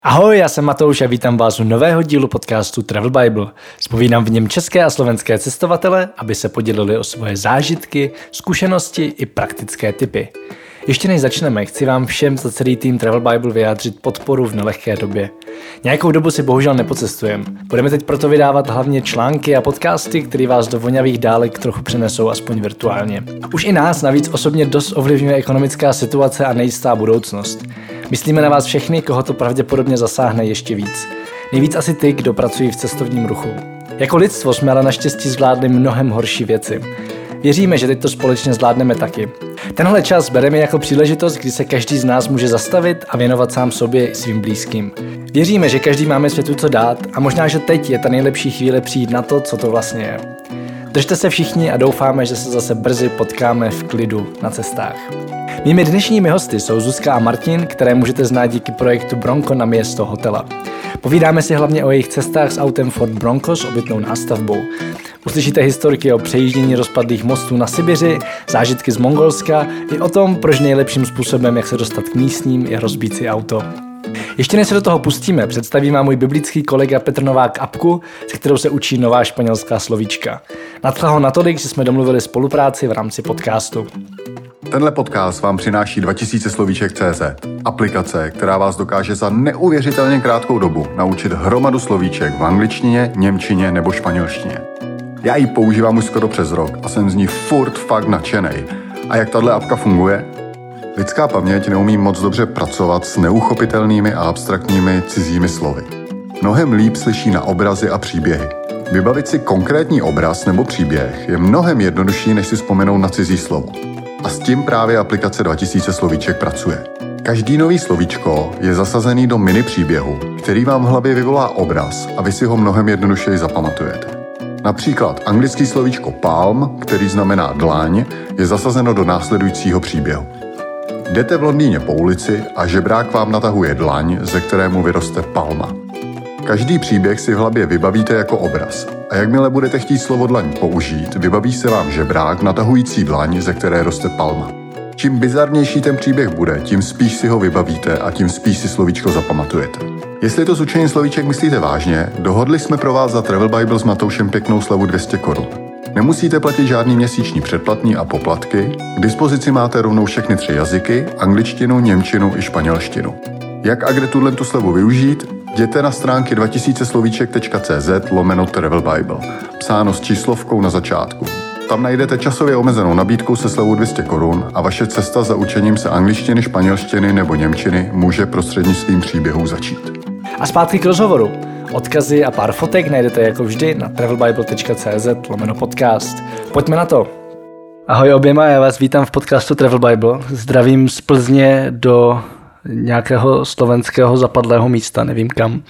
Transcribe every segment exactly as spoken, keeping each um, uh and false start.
Ahoj, já jsem Matouš a vítám vás u nového dílu podcastu Travel Bible. Zpovídám v něm české a slovenské cestovatele, aby se podělili o svoje zážitky, zkušenosti i praktické tipy. Ještě než začneme, chci vám všem za celý tým Travel Bible vyjádřit podporu v nelehké době. Nějakou dobu si bohužel nepocestujeme. Budeme teď proto vydávat hlavně články a podcasty, které vás do vonavých dálek trochu přenesou aspoň virtuálně. Už i nás navíc osobně dost ovlivňuje ekonomická situace a nejistá budoucnost. Myslíme na vás všechny, koho to pravděpodobně zasáhne ještě víc. Nejvíc asi ty, kdo pracují v cestovním ruchu. Jako lidstvo jsme ale naštěstí zvládli mnohem horší věci. Věříme, že teď to společně zvládneme taky. Tenhle čas bereme jako příležitost, kdy se každý z nás může zastavit a věnovat sám sobě i svým blízkým. Věříme, že každý máme světu co dát a možná, že teď je ta nejlepší chvíle přijít na to, co to vlastně je. Držte se všichni a doufáme, že se zase brzy potkáme v klidu na cestách. Mými dnešními hosty jsou Zuzka a Martin, které můžete znát díky projektu Bronco na město hotela. Povídáme si hlavně o jejich cestách s autem Ford Bronco s obytnou nástavbou. Uslyšíte historky o přejíždění rozpadlých mostů na Sibiři, zážitky z Mongolska i o tom, proč nejlepším způsobem, jak se dostat k místním, je rozbít si auto. Ještě než se do toho pustíme, představím vám můj biblický kolega Petr Novák apku, se kterou se učí nová španělská slovíčka. Nadchla ho natolik, že jsme domluvili spolupráci v rámci podcastu. Tenhle podcast vám přináší dva tisíce slovíček tečka cé zet, aplikace, která vás dokáže za neuvěřitelně krátkou dobu naučit hromadu slovíček v angličtině, němčině nebo španělštině. Já ji používám už skoro přes rok a jsem z ní furt fakt nadšenej. A jak tahle apka funguje? Lidská paměť neumí moc dobře pracovat s neuchopitelnými a abstraktními cizími slovy. Mnohem líp slyší na obrazy a příběhy. Vybavit si konkrétní obraz nebo příběh je mnohem jednodušší, než si vzpomenout na cizí slovo. A s tím právě aplikace dva tisíce slovíček pracuje. Každý nový slovíčko je zasazený do mini příběhu, který vám v hlavě vyvolá obraz a vy si ho mnohem jednodušeji zapamatujete. Například anglický slovíčko palm, který znamená dlaň, je zasazeno do následujícího příběhu. Jdete v Londýně po ulici a žebrák vám natahuje dlaň, ze kterému vyroste palma. Každý příběh si v hlavě vybavíte jako obraz a jakmile budete chtít slovo dlaň použít, vybaví se vám žebrák natahující dlaň, ze které roste palma. Čím bizarnější ten příběh bude, tím spíš si ho vybavíte a tím spíš si slovíčko zapamatujete. Jestli to s učením slovíček myslíte vážně, dohodli jsme pro vás za Travel Bible s Matoušem pěknou slevu dvě stě korun. Nemusíte platit žádný měsíční předplatný a poplatky, k dispozici máte rovnou všechny tři jazyky, angličtinu, němčinu i španělštinu. Jak a kde tuhle slevu využít? Jděte na stránky dva tisíce slovíček tečka cé zet lomeno Travel Bible, psáno s číslovkou na začátku. Tam najdete časově omezenou nabídku se slevou dvě stě korun a vaše cesta za učením se angličtiny, španělštiny nebo němčiny může prostřednictvím příběhů začít. A zpátky k rozhovoru. Odkazy a pár fotek najdete jako vždy na travelbible tečka cé zet lomeno podcast. Pojďme na to. Ahoj oběma, já vás vítám v podcastu Travel Bible. Zdravím z Plzně do nějakého slovenského zapadlého místa, nevím kam.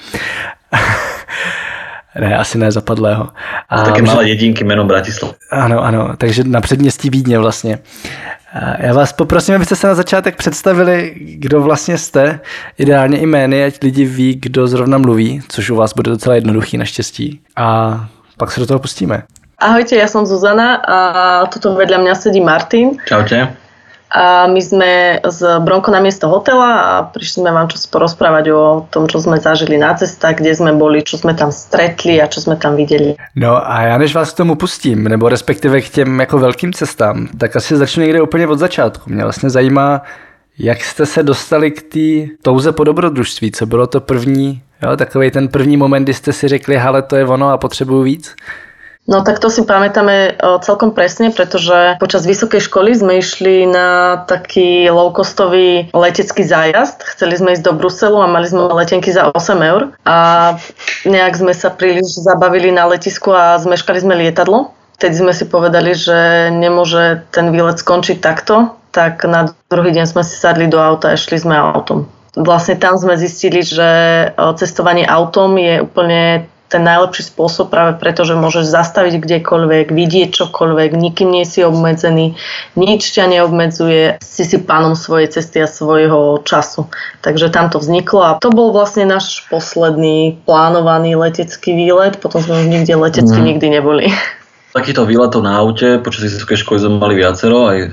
Ne, asi ne zapadlého. A také malé jedinky jméno Bratislava. Ano, ano, takže na předměstí Vídně vlastně. A já vás poprosím, abyste se na začátek představili, kdo vlastně jste, ideálně i jmény, ať lidi ví, kdo zrovna mluví, což u vás bude docela jednoduchý naštěstí. A pak se do toho pustíme. Ahojte, ja som Zuzana a tuto vedľa mňa sedí Martin. Čaute. A my sme z Bronco na miesto hotela a prišli sme vám čo porozprávať o tom, čo sme zažili na cestách, kde sme boli, čo sme tam stretli a čo sme tam viděli. No a já než vás k tomu pustím, nebo respektive k těm jako velkým cestám, tak asi začnu někde úplně od začátku. Mě vlastně zajímá, jak jste se dostali k té touze po dobrodružství, co bylo to první, jo, takovej ten první moment, kdy jste si řekli, hele, to je ono a potřebuju víc? No tak to si pamätáme celkom presne, pretože počas vysokej školy sme išli na taký low-costový letecký zájazd. Chceli sme ísť do Bruselu a mali sme letenky za osem eur a nejak sme sa príliš zabavili na letisku a zmeškali sme lietadlo. Vtedy sme si povedali, že nemôže ten výlet skončiť takto, tak na druhý deň sme si sadli do auta a šli sme autom. Vlastne tam sme zistili, že cestovanie autom je úplne ten najlepší spôsob práve preto, že môžeš zastaviť kdekoľvek, vidieť čokoľvek, nikým nie si obmedzený, nič ťa neobmedzuje, si si pánom svojej cesty a svojho času. Takže tam to vzniklo a to bol vlastne náš posledný plánovaný letecký výlet, potom sme už nikde letecky mm. nikdy neboli. Takýchto výletov na aute počas vysokej školy sme mali viacero, aj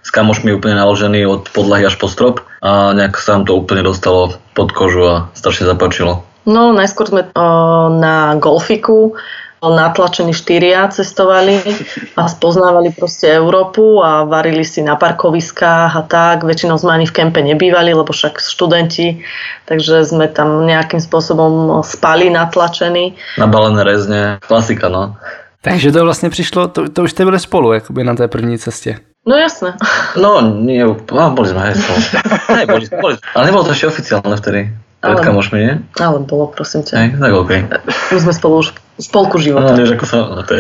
s kamošmi úplne naložený od podlahy až po strop a nejak sa nám to úplne dostalo pod kožu a strašne zapáčilo. No, najskôr sme o, na golfiku natlačení štyria cestovali a spoznávali proste Európu a varili si na parkoviskách a tak. Väčšinou sme ani v kempe nebývali, lebo však študenti, takže sme tam nejakým spôsobom spali natlačení. Nabalené rezne, klasika, no. Takže to vlastně přišlo, to, to už jste byli spolu, jakoby na té první cestě. No jasné. No, nie, no, boli sme aj spolu. Ne, boli, boli, ale nebolo to ešte oficiálne vtedy. Pred kamošmi, nie? Ale bolo, prosím ťa. Hej, tak okej. Okay. My sme spolu už v polku života. No, než ako sa... No, to je...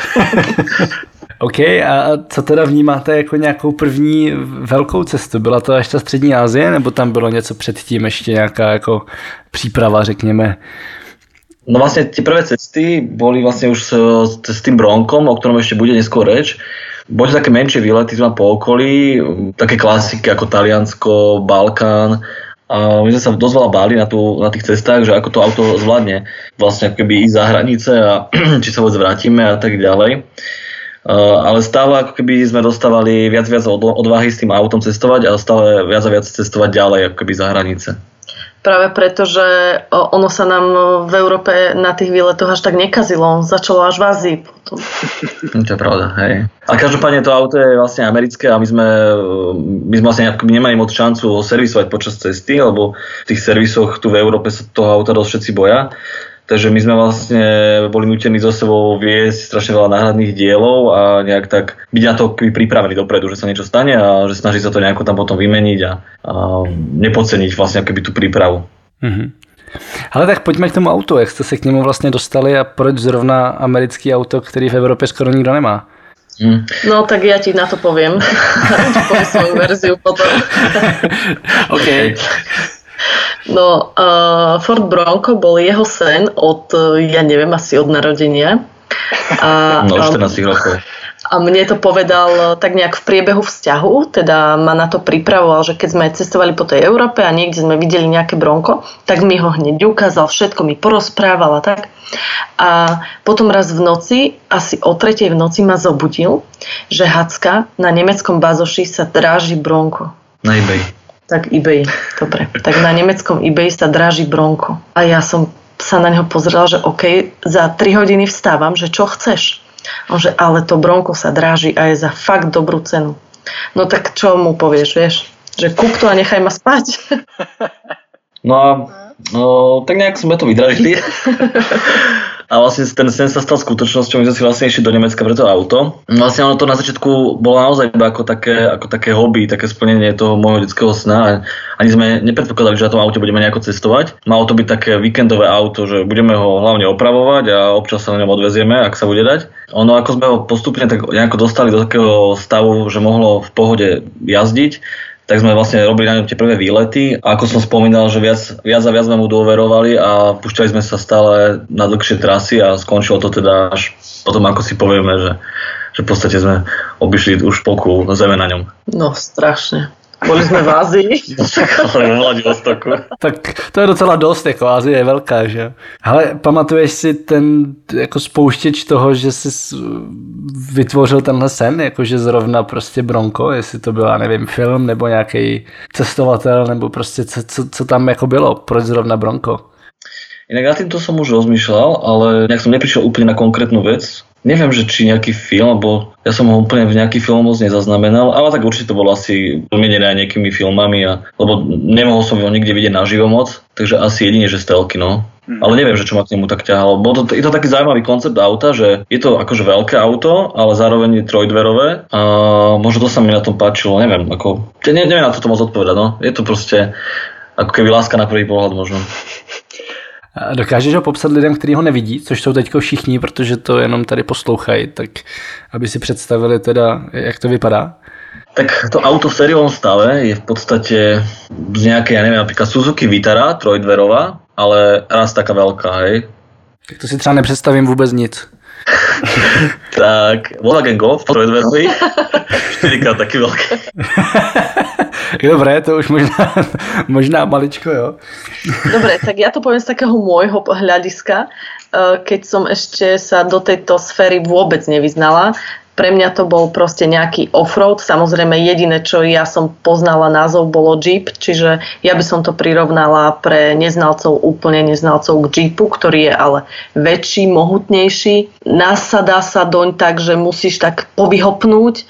OK, a co teda vnímáte jako nějakou první velkou cestu? Byla to až ta střední Asie, nebo tam bylo něco předtím, ještě nějaká jako příprava, řekněme? No vlastne tie prvé cesty boli vlastne už s, s tým Bronkom, o ktorom ešte bude neskôr reč. Boli také menšie výlety tam po okolí, také klasiky ako Taliansko, Balkán. A my sme sa dosť veľa báli na, tú, na tých cestách, že ako to auto zvládne vlastne ako keby ísť za hranice a či sa vôbec vrátime a tak ďalej. Uh, ale stále ako keby sme dostávali viac viac odvahy s tým autom cestovať a stále viac a viac cestovať ďalej ako keby za hranice. Práve preto, že ono sa nám v Európe na tých výletoch až tak nekazilo. Začalo až v Ázii potom. To je pravda, hej. A každopádne to auto je vlastne americké a my sme, my sme vlastne nemali moc šancu ho servisovať počas cesty, lebo v tých servisoch tu v Európe sa toho auta dosť všetci boja. Takže my sme vlastne boli nútení so sebou viesť strašne veľa náhradných dielov a nejak tak byť na to pripravení dopredu, že sa niečo stane a že snaží sa to nejako tam potom vymeniť a, a nepodceniť vlastne keby tú prípravu. Mm-hmm. Ale tak pojďme k tomu autu, jak jste se k němu vlastně dostali a proč zrovna americký auto, který v Evropě skoro nikdo nemá? Mm. No tak ja ti na to poviem. Poviem svoju verziu potom. OK. No, uh, Ford Bronco bol jeho sen od, ja neviem, asi od narodenia. A, no, štrnásť rokov. A mne to povedal tak nejak v priebehu vzťahu, teda ma na to pripravoval, že keď sme cestovali po tej Európe a niekde sme videli nejaké Bronco, tak mi ho hneď ukázal, všetko mi porozprával a tak. A potom raz v noci, asi o tretej v noci ma zobudil, že Hacka na nemeckom bazoši sa dráži Bronco. Na eBay. Tak eBay, dobre. Tak na nemeckom eBay sa dráži Bronco. A ja som sa na neho pozrela, že OK, za tri hodiny vstávam, že čo chceš? On že, ale to Bronco sa dráži a je za fakt dobrú cenu. No tak čo mu povieš, vieš? Že kúp to a nechaj ma spať. No a no, tak nejak sme to vydražili. A vlastne ten sen sa stal skutočnosťou, my sme si vlastne išli do Nemecka pre to auto. Vlastne ono to na začiatku bolo naozaj iba ako také, ako také hobby, také splnenie toho môjho detského sna. Ani sme nepredpokladali, že na tom aute budeme nejako cestovať. Malo to byť také víkendové auto, že budeme ho hlavne opravovať a občas sa na ňom odvezieme, ak sa bude dať. Ono ako sme ho postupne tak nejako dostali do takého stavu, že mohlo v pohode jazdiť, tak sme vlastne robili na ňom tie prvé výlety. A ako som spomínal, že viac, viac a viac sme mu dôverovali a púšťali sme sa stále na dlhšie trasy a skončilo to teda až potom, ako si povieme, že, že v podstate sme obišli už polku zeme na ňom. No strašne. Boli sme v Ázii. Ale v Vladivostoku. Tak to je docela dost, jako Ázie je velká, že? Ale pamatuješ si ten jako spouštěč toho, že jsi vytvořil tenhle sen, jakože zrovna prostě Bronco, jestli to byla, nevím, film nebo nějaký cestovatel, nebo prostě co, co, co tam jako bylo, proč zrovna Bronco? Inak na týmto som už rozmýšľal, ale nejak som neprišiel úplne na konkrétnu vec. Neviem, že či nejaký film, alebo ja som ho úplne v nejaký film moc nezaznamenal, ale tak určite to bolo asi pomienené aj nejakými filmami, a, lebo nemohol som ho nikde vidieť naživo moc, takže asi jedine, že stelky, no. Hmm. Ale neviem, že čo ma k nemu tak ťahalo. Bolo to, je to taký zaujímavý koncept auta, že je to akože veľké auto, ale zároveň je trojdverové a možno to sa mi na tom páčilo, neviem, ako, ne, neviem na to moc odpovedať, no. Je to proste ako keby láska na prvý pohľad možno. A dokážeš ho popsat lidem, kteří ho nevidí, což jsou teďko všichni, protože to jenom tady poslouchají, tak aby si představili teda, jak to vypadá? Tak to auto v sériovom stave je v podstate z nejakej, ja neviem, napríklad Suzuki Vitara, trojdverová, ale raz taká veľká, hej. Tak to si třeba nepředstavím vůbec nic. Tak, Volkswagen Golf, trojdverový, štyrikrát taký veľký. Dobré, to už možná, možná maličko, jo. Dobre, tak ja to poviem z takého môjho hľadiska, keď som ešte sa do tejto sféry vôbec nevyznala. Pre mňa to bol proste nejaký offroad. Samozrejme jediné, čo ja som poznala názov, bolo Jeep, čiže ja by som to prirovnala pre neznalcov, úplne neznalcov k Jeepu, ktorý je ale väčší, mohutnejší. Nasadá sa doň tak, že musíš tak povyhopnúť,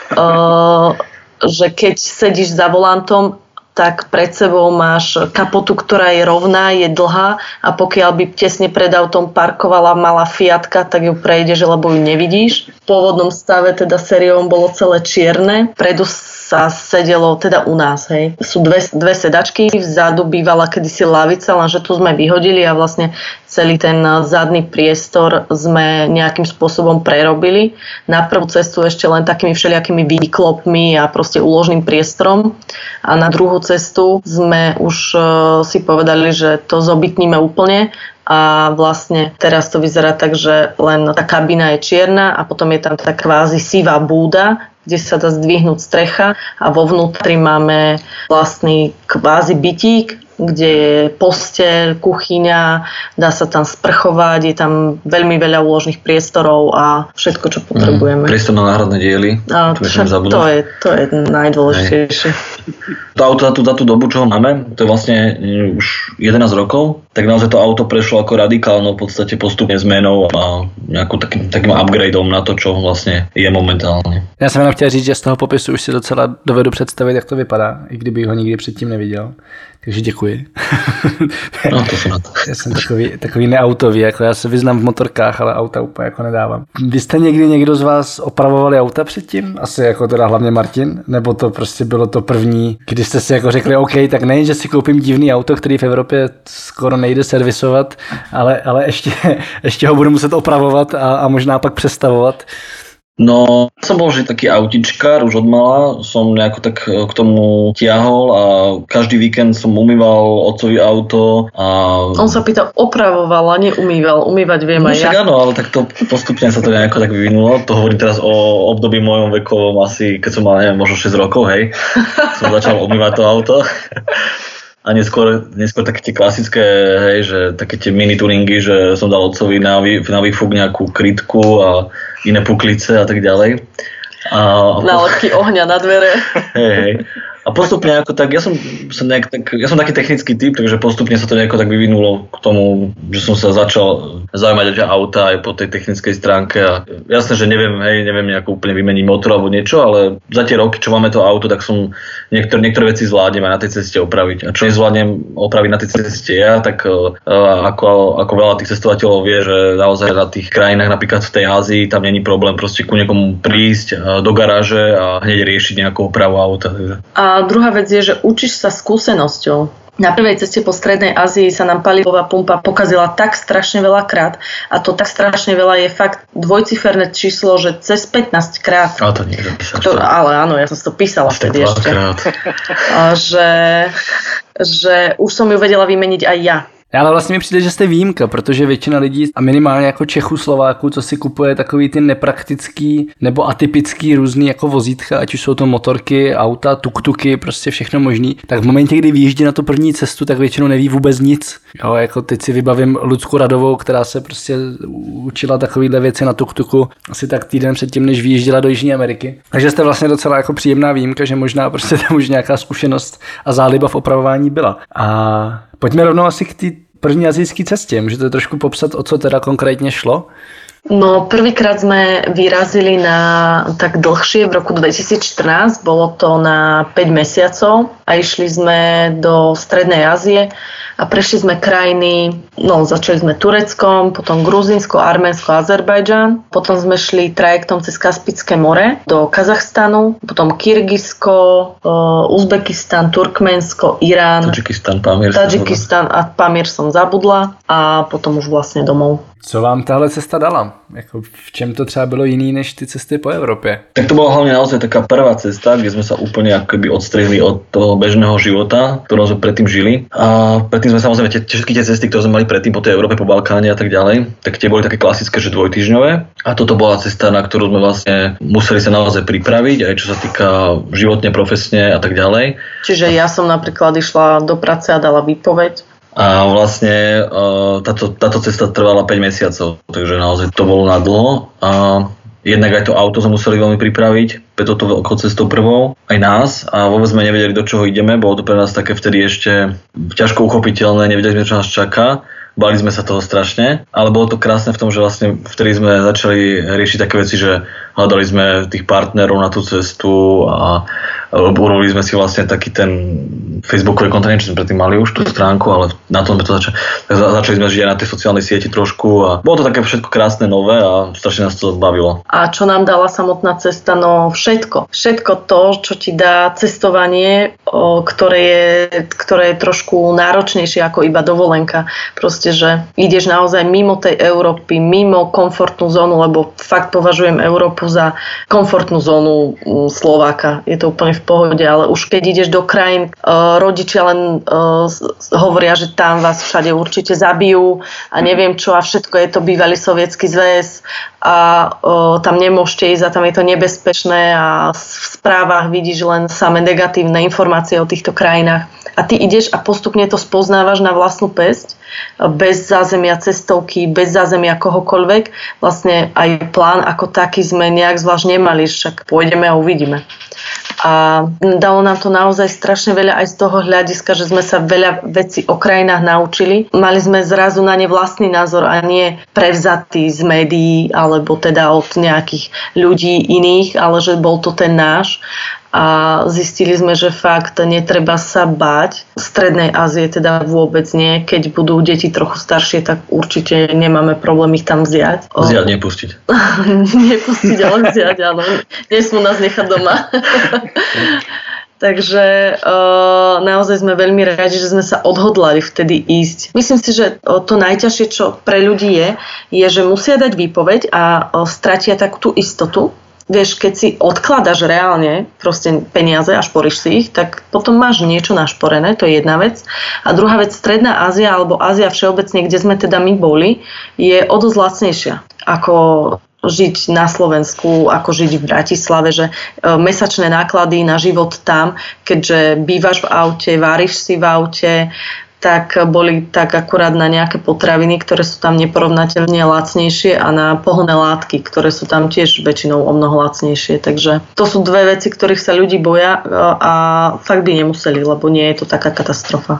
uh, že keď sedíš za volantom, tak pred sebou máš kapotu, ktorá je rovná, je dlhá a pokiaľ by tesne pred autom parkovala malá Fiatka, tak ju prejdeš, lebo ju nevidíš. V pôvodnom stave teda sériom bolo celé čierne, predu sa sedelo teda u nás, hej. Sú dve, dve sedačky, vzadu bývala kedysi lavica, lenže tu sme vyhodili a vlastne celý ten zadný priestor sme nejakým spôsobom prerobili. Na prvú cestu ešte len takými všelijakými výklopmi a proste úložným priestorom a na druhú cestu sme už uh, si povedali, že to zobytníme úplne a vlastne teraz to vyzerá tak, že len tá kabína je čierna a potom je tam tá kvázi sivá búda, kde sa dá zdvihnúť strecha a vo vnútri máme vlastný kvázi bytík, kde je posteľ, kuchyňa, dá sa tam sprchovať, je tam veľmi veľa úložných priestorov a všetko, čo potrebujeme. Mm, priestor na náhradné diely. A to, to, je, to je najdôležitejšie. To auto za tú, za tú dobu, čo ho máme, to je vlastne už jedenásť rokov, tak naozaj to auto prešlo ako radikálnou v podstate postupne zmenou a nejakým takým, takým upgradeom na to, čo vlastne je momentálně. Já jsem jenom chtěl říct, že z toho popisu už si docela dovedu představit, jak to vypadá, i kdybych ho nikdy předtím neviděl. Takže děkuji. No, to jsem na to. Já jsem takový, takový neautový, jako já se vyznám v motorkách, ale auta úplně jako nedávám. Vy jste někdy někdo z vás opravovali auta předtím? Asi jako teda hlavně Martin? Nebo to prostě bylo to první, kdy jste si jako řekli, OK, tak nejen, že si koupím divný auto, který v Evropě skoro nejde servisovat, ale, ale ještě, ještě ho budu muset opravovat a, a možná pak přestavovat. No, som bol vždy taký autičkár, už odmala som nejako tak k tomu tiahol a každý víkend som umýval otcovi auto a... On sa pýta, opravoval a neumýval, umývať viem aj no, ja. Áno, ale tak to postupne sa to nejako tak vyvinulo, to hovorím teraz o období mojom vekovom asi, keď som mal neviem, možno šesť rokov, hej, som začal umývať to auto. A neskôr, neskôr také tie klasické, hej, že také tie mini tuningy, že som dal otcovi na, vý, na výfuk nejakú krytku a iné puklice a tak ďalej. A, nálepky ohňa na dvere. Hej, hej. A postupne ako tak, ja som, som nejak tak, ja som taký technický typ, takže postupne sa to nejako tak vyvinulo k tomu, že som sa začal zaujímať o auta aj po tej technickej stránke a jasné, že neviem, hej, neviem nejako úplne vymeniť motor alebo niečo, ale za tie roky, čo máme to auto, tak som niektoré, niektoré veci zvládnem aj na tej ceste opraviť. A čo nezvládnem opraviť na tej ceste ja, tak uh, ako, ako veľa tých cestovateľov vie, že naozaj na tých krajinách, napríklad v tej Ázii, tam není problém proste ku niekomu prísť uh, do garáže a hneď riešiť nejakú opravu auta. Takže. A druhá vec je, že učíš sa skúsenosťou. Na prvej ceste po Strednej Ázii sa nám palivová pumpa pokazila tak strašne veľa krát a to tak strašne veľa je fakt dvojciferné číslo, že cez pätnásť krát. Ale to niekto písal. To, ale áno, ja som si to písala vtedy ešte. A že, že už som ju vedela vymeniť aj ja. Ale vlastně mi přijde, že jste výjimka, protože většina lidí a minimálně jako Čechů, Slováků, co si kupuje takový ty nepraktický nebo atypický různý jako vozítka, ať už jsou to motorky, auta, tuktuky, prostě všechno možný, tak v momentě, kdy vyjíždí na tu první cestu, tak většinou neví vůbec nic. Jo, jako teď si vybavím Lucku Radovou, která se prostě učila takovýhle věci na tuktuku asi tak týden předtím, než vyjížděla do Jižní Ameriky. Takže jste vlastně docela jako příjemná výjimka, že možná prostě tam už nějaká zkušenost a záliba v opravování byla. A pojďme rovnou asi k té první asijské cestě. Můžete trošku popsat, o co teda konkrétně šlo? No, prvýkrát sme vyrazili na tak dlhšie v roku dvetisícštrnásť, bolo to na päť mesiacov a išli sme do Strednej Ázie a prešli sme krajiny, no začali sme Tureckom, potom Gruzínsko, Arménsko, Azerbajdžan, potom sme šli trajektom cez Kaspické more do Kazachstanu, potom Kyrgyzsko, Uzbekistan, Turkmensko, Irán, Tadžikistan, Pamír, Tadžikistan a Pamír som zabudla a potom už vlastne domov. Co vám tahle cesta dala? Jako v čem to třeba bylo jiný než ty cesty po Evropě? Tak to bola hlavne naozaj taká prvá cesta, kde sme sa úplne akoby odstrihli od toho bežného života, ktorom sme predtým žili. A predtým sme samozrejme tie, všetky tie cesty, ktoré sme mali predtým po tej Európe, po Balkáne a tak ďalej, tak tie boli také klasické, že dvojtýždňové. A toto bola cesta, na ktorú sme vlastne museli sa naozaj pripraviť, aj čo sa týka životne, profesne a tak ďalej. Čiže ja som napríklad išla do práce a dala výpoveď. A vlastne táto, táto cesta trvala päť mesiacov, takže naozaj to bolo nadlho. A jednak aj to auto sme museli veľmi pripraviť, preto to veľkou cestou prvou, aj nás a vôbec sme nevedeli, do čoho ideme, bolo to pre nás také vtedy ešte ťažko uchopiteľné, nevedeli sme, čo nás čaká. Bali sme sa toho strašne, ale bolo to krásne v tom, že vlastne vtedy sme začali riešiť také veci, že hľadali sme tých partnerov na tú cestu a urobili sme si vlastne taký ten facebookový kontent, čo sme predtým mali už tú stránku, ale na tom sme to začali. Začali sme žiť aj na tej sociálnej sieti trošku a bolo to také všetko krásne, nové a strašne nás to bavilo. A čo nám dala samotná cesta? No všetko. Všetko to, čo ti dá cestovanie, ktoré je, ktoré je trošku náročnejšie ako iba dovolenka. Proste, že ideš naozaj mimo tej Európy, mimo komfortnú zónu, lebo fakt považujem Európu za komfortnú zónu Slováka. Je to úplne v pohode, ale už keď ideš do krajín, rodičia len hovoria, že tam vás všade určite zabijú a neviem čo a všetko je to bývalý sovietský zväz a tam nemôžete ísť a tam je to nebezpečné a v správach vidíš len samé negatívne informácie o týchto krajinách. A ty ideš a postupne to spoznávaš na vlastnú päsť, bez zázemia cestovky, bez zázemia kohokoľvek. Vlastne aj plán ako taký sme nejak zvlášť nemali, však pôjdeme a uvidíme. A dalo nám to naozaj strašne veľa aj z toho hľadiska, že sme sa veľa vecí o krajinách naučili. Mali sme zrazu na ne vlastný názor a nie prevzatý z médií alebo teda od nejakých ľudí iných, ale že bol to ten náš. A zistili sme, že fakt netreba sa báť. V Strednej Ázie teda vôbec nie. Keď budú deti trochu staršie, tak určite nemáme problém ich tam vziať. Vziať, nepustiť. Nepustiť, ale vziať, áno. Nesmú nás nechať doma. Takže uh, naozaj sme veľmi radi, že sme sa odhodlali vtedy ísť. Myslím si, že to najťažšie, čo pre ľudí je, je, že musia dať výpoveď a uh, stratia takú tú istotu. Vieš, keď si odkladaš reálne proste peniaze a šporíš si ich, tak potom máš niečo našporené, to je jedna vec. A druhá vec, Stredná Ázia alebo Ázia všeobecne, kde sme teda my boli, je o dosť lacnejšia ako žiť na Slovensku, ako žiť v Bratislave, že mesačné náklady na život tam, keďže bývaš v aute, váriš si v aute, tak boli tak akurát na nejaké potraviny, ktoré sú tam neporovnateľne lacnejšie a na pohonné látky, ktoré sú tam tiež väčšinou o mnoho lacnejšie. Takže to sú dve veci, ktorých sa ľudí boja a fakt by nemuseli, lebo nie je to taká katastrofa.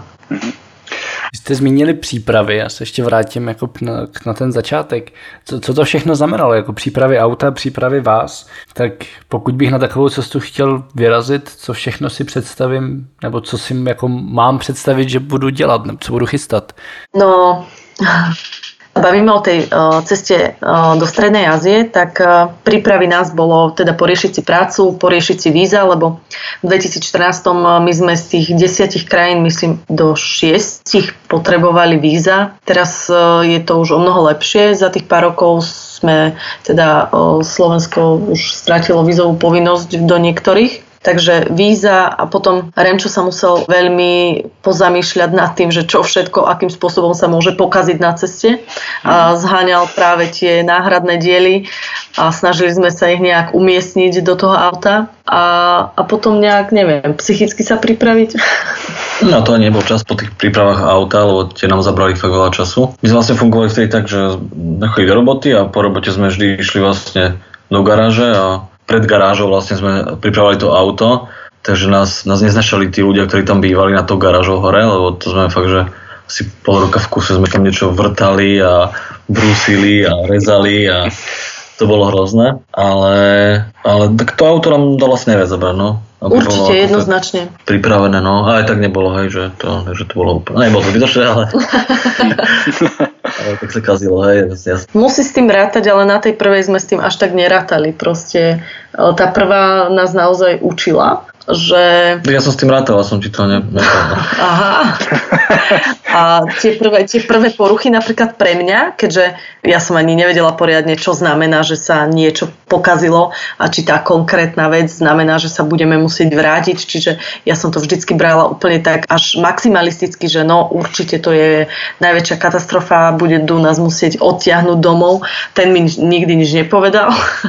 Vy jste zmínili přípravy, já se ještě vrátím jako na, na ten začátek. Co, co to všechno znamenalo, jako přípravy auta, přípravy vás, tak pokud bych na takovou cestu chtěl vyrazit, co všechno si představím, nebo co si jako mám představit, že budu dělat, nebo co budu chystat? No... Bavíme o tej uh, ceste uh, do Strednej Ázie, tak uh, prípravy nás bolo teda poriešiť si prácu, poriešiť si víza, lebo v dvetisícštrnásť uh, my sme z tých desiatich krajín, myslím, do šiestich potrebovali víza. Teraz uh, je to už o mnoho lepšie. Za tých pár rokov sme, teda uh, Slovensko už strátilo vízovú povinnosť do niektorých. Takže víza a potom Remčo sa musel veľmi pozamýšľať nad tým, že čo všetko, akým spôsobom sa môže pokaziť na ceste. A zháňal práve tie náhradné diely a snažili sme sa ich nejak umiestniť do toho auta a, a potom nejak, neviem, psychicky sa pripraviť. No to nebol čas po tých prípravách auta, lebo tie nám zabrali fakt veľa času. My sme vlastne fungovali vtedy tak, že chodili do roboty a po robote sme vždy išli vlastne do garáže a pred garážou vlastne sme pripravovali to auto, takže nás, nás neznašali tí ľudia, ktorí tam bývali na to garážou hore, lebo to sme fakt, že asi pol roka v kuse sme tam niečo vrtali a brúsili a rezali a to bolo hrozné, ale, ale tak to auto nám dalo asi najviac zabrať, no. Určite, jednoznačne. Pripravené, no. A aj tak nebolo, hej, že to, že to bolo úplne... Nebolo to zbytočné, ale... ale tak sa kazilo, hej. Jasne. Musí s tým rátať, ale na tej prvej sme s tým až tak nerátali. Proste tá prvá nás naozaj učila, že... Ja som s tým rátal, som ti to ne... Aha. A tie prvé, tie prvé poruchy napríklad pre mňa, keďže ja som ani nevedela poriadne, čo znamená, že sa niečo pokazilo a či tá konkrétna vec znamená, že sa budeme musieť vrátiť. Čiže ja som to vždycky brala úplne tak až maximalisticky, že no určite to je najväčšia katastrofa, bude do nás musieť odtiahnuť domov. Ten mi nikdy nič nepovedal.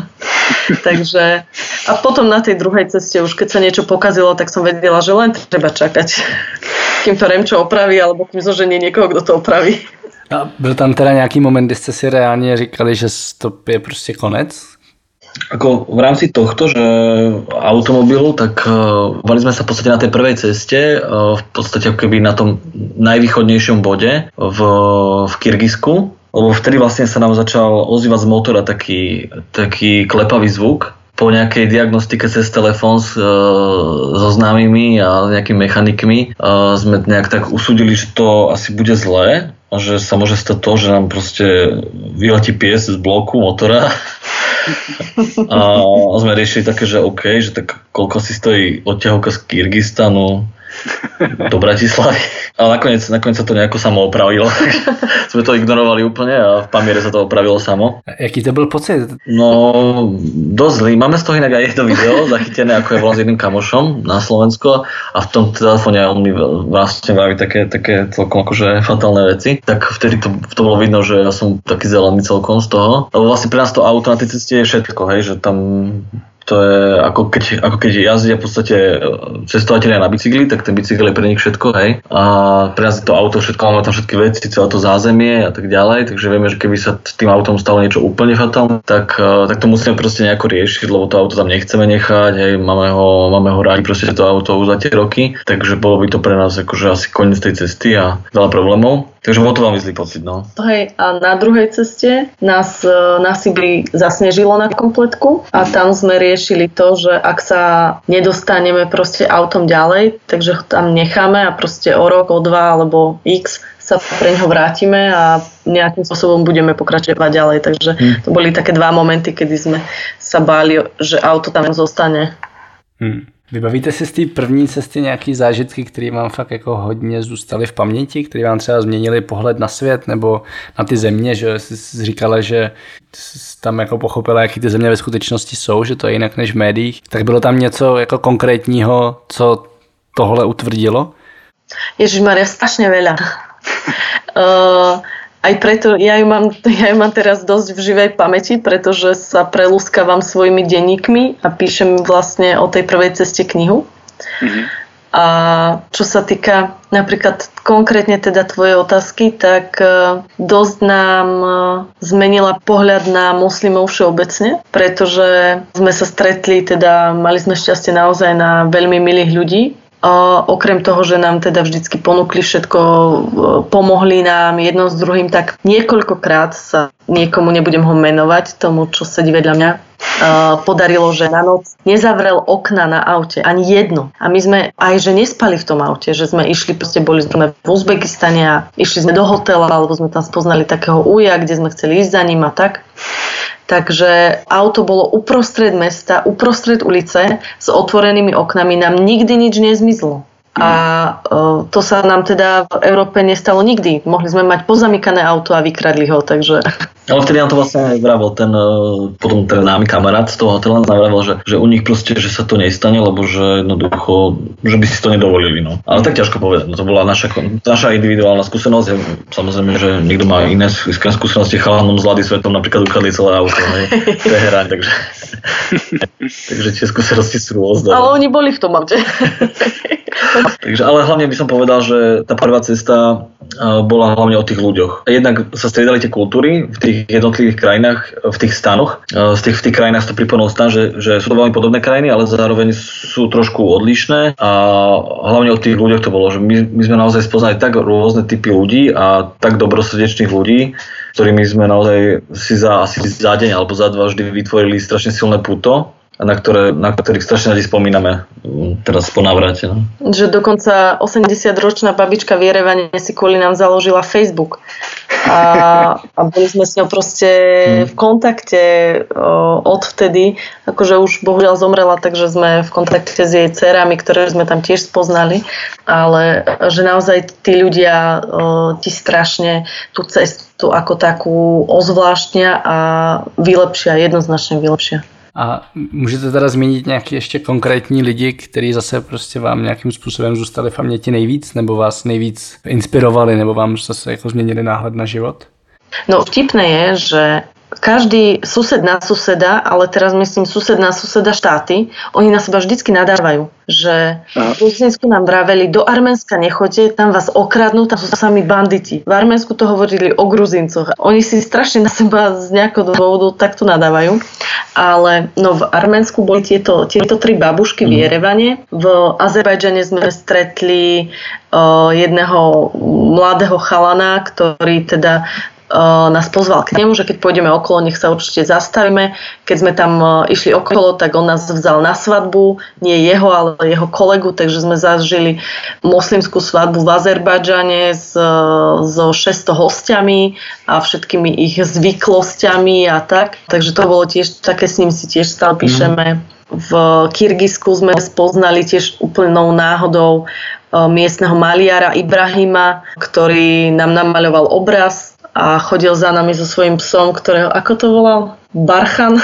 Takže a potom na tej druhej ceste, už keď sa niečo pokazilo, tak som vedela, že len treba čakať, kým to Remčo opraví, alebo kým zoženie niekoho, kdo to opraví. A byl tam teda nějaký moment, kdy jste si reálně říkali, že to je prostě konec? Ako v rámci tohto, že automobilu, tak uh, mali sme sa v podstate na tej prvej ceste, uh, v podstate ako keby na tom najvýchodnejšom bode v, v Kyrgyzsku, lebo vtedy vlastne sa nám začal ozývať z motora taký, taký klepavý zvuk. Po nejakej diagnostike cez telefón s, uh, so známymi a nejakými mechanikmi uh, sme nejak tak usúdili, že to asi bude zlé a že sa môže stať to, že nám proste vyletí pies z bloku motora. A sme riešili také, že OK, že tak koľko si stojí odťahovka z Kyrgyzstanu do Bratislavy. Ale nakoniec, nakoniec sa to nejako samo opravilo. Sme to ignorovali úplne a v Pamiere sa to opravilo samo. Jaký to byl pocit? No, dosť zlý. Máme z toho inak aj jedno video zachytené, ako je volal s jedným kamošom na Slovensko a v tom telefóne on mi vlastne vraví také, také celkom akože fatálne veci. Tak vtedy to, to bolo vidno, že ja som taký zelený celkom z toho. Lebo vlastne pre nás to auto na tej ceste je všetko, hej, že tam to je ako keď, ako keď jazdia v podstate cestovatelia na bicykli, tak ten bicykel je pre nich všetko, hej. A pre nás je to auto všetko, máme tam všetky veci, celé to zázemie a tak ďalej, takže vieme, že keby sa s tým autom stalo niečo úplne fatálne, tak, tak to musíme proste nejako riešiť, lebo to auto tam nechceme nechať, hej, máme ho, máme ho rádi proste to auto už za tie roky, takže bolo by to pre nás akože asi koniec tej cesty a veľa problémov. Takže bol to veľmi zlý pocit, no. Hej, a na druhej ceste nás na Sibiri zasnežilo na kompletku a tam sme riešili to, že ak sa nedostaneme proste autom ďalej, takže ho tam necháme a proste o rok, o dva alebo x sa pre ňoho vrátime a nejakým spôsobom budeme pokračovať ďalej. Takže to boli také dva momenty, kedy sme sa báli, že auto tam zostane. Hmm. Vybavíte si z té první cesty nějaký zážitky, které vám fakt jako hodně zůstaly v paměti, které vám třeba změnily pohled na svět nebo na ty země, že jsi říkala, že jsi tam jako pochopila, jaký ty země ve skutečnosti jsou, že to je jinak než v médiích. Tak bylo tam něco jako konkrétního, co tohle utvrdilo? Ježišmaria, strašne veľa. uh... Aj preto ja ju, mám, ja ju mám teraz dosť v živej pamäti, pretože sa prelúskavam svojimi denníkmi a píšem vlastne o tej prvej ceste knihu. Mm-hmm. A čo sa týka napríklad konkrétne teda tvojej otázky, tak dosť nám zmenila pohľad na moslimov všeobecne, pretože sme sa stretli, teda mali sme šťastie naozaj na veľmi milých ľudí. A okrem toho, že nám teda vždycky ponúkli všetko, pomohli nám jedno s druhým, tak niekoľkokrát sa niekomu, nebudem ho menovať, tomu, čo sedí vedľa mňa, podarilo, že na noc nezavrel okna na aute, ani jedno. A my sme aj, že nespali v tom aute, že sme išli, proste boli sme v Uzbekistane a išli sme do hotela, alebo sme tam spoznali takého uja, kde sme chceli ísť za ním a tak. Takže auto bolo uprostred mesta, uprostred ulice s otvorenými oknami, nám nikdy nič nezmizlo. A uh, to sa nám teda v Európe nestalo nikdy. Mohli sme mať pozamykané auto a vykradli ho, takže... Ale vtedy nám to vlastne vravel ten, potom ten námy kamarát z toho hotela nám vravel, že, že u nich proste, že sa to nestane, lebo že jednoducho, že by si to nedovolili, no. Ale tak ťažko povedať, no to bola naša, naša individuálna skúsenosť. Samozrejme, že niekto má iné skúsenosti, chalanom z Lady svetom napríklad ukradli celé auto, hej, Teherán, takže... takže tie skúsenosti sú rôzne. Ale oni boli v tom aute. Takže, ale hlavne by som povedal, že tá prvá cesta bola hlavne o tých ľuďoch. Jednak sa striedali tie kultúry v tých jednotlivých krajinách, v tých stanoch. Z tých, v tých krajinách to pripomenul stan, že, že sú to veľmi podobné krajiny, ale zároveň sú trošku odlišné a hlavne o tých ľuďoch to bolo, že my, my sme naozaj spoznali tak rôzne typy ľudí a tak dobrosrdečných ľudí, ktorými sme naozaj si za, asi za deň alebo za dva vždy vytvorili strašne silné puto, na, ktoré, na ktorých strašne radi spomíname teraz po návrate. No. Že dokonca osemdesiatročná babička v Jerevane si kvôli nám založila Facebook. A, a boli sme s ňou proste v kontakte o, odvtedy. Akože už bohužiaľ zomrela, takže sme v kontakte s jej dcerami, ktoré sme tam tiež spoznali. Ale že naozaj tí ľudia o, ti strašne tú cestu ako takú ozvláštnia a vylepšia, jednoznačne vylepšia. A můžete teda zmínit nějaké ještě konkrétní lidi, kteří zase prostě vám nějakým způsobem zůstali v paměti nejvíc, nebo vás nejvíc inspirovali, nebo vám zase jako změnili náhled na život? No vtipné je, že každý sused na suseda, ale teraz myslím sused na suseda štáty, oni na seba vždycky nadávajú, že v Gruzínsku nám vraveli, do Arménska nechoďte, tam vás okradnú, tam sú sami banditi. V Arménsku to hovorili o Gruzíncoch. Oni si strašne na seba z nejakého dôvodu takto nadávajú. Ale no, v Arménsku boli tieto, tieto tri babušky v Jerevane. V Azerbajdžane sme stretli uh, jedného mladého chalana, ktorý teda nás pozval k nemu, že keď pôjdeme okolo, nech sa určite zastavíme. Keď sme tam išli okolo, tak on nás vzal na svadbu, nie jeho, ale jeho kolegu, takže sme zažili moslimskú svadbu v Azerbajdžane s, so šesťsto hostiami a všetkými ich zvyklosťami a tak. Takže to bolo tiež, také s ním si tiež stále píšeme. V Kyrgyzsku sme spoznali tiež úplnou náhodou miestneho maliara Ibrahima, ktorý nám namaľoval obraz a chodil za nami so svojím psom, ktorého, ako to volal? Barchan?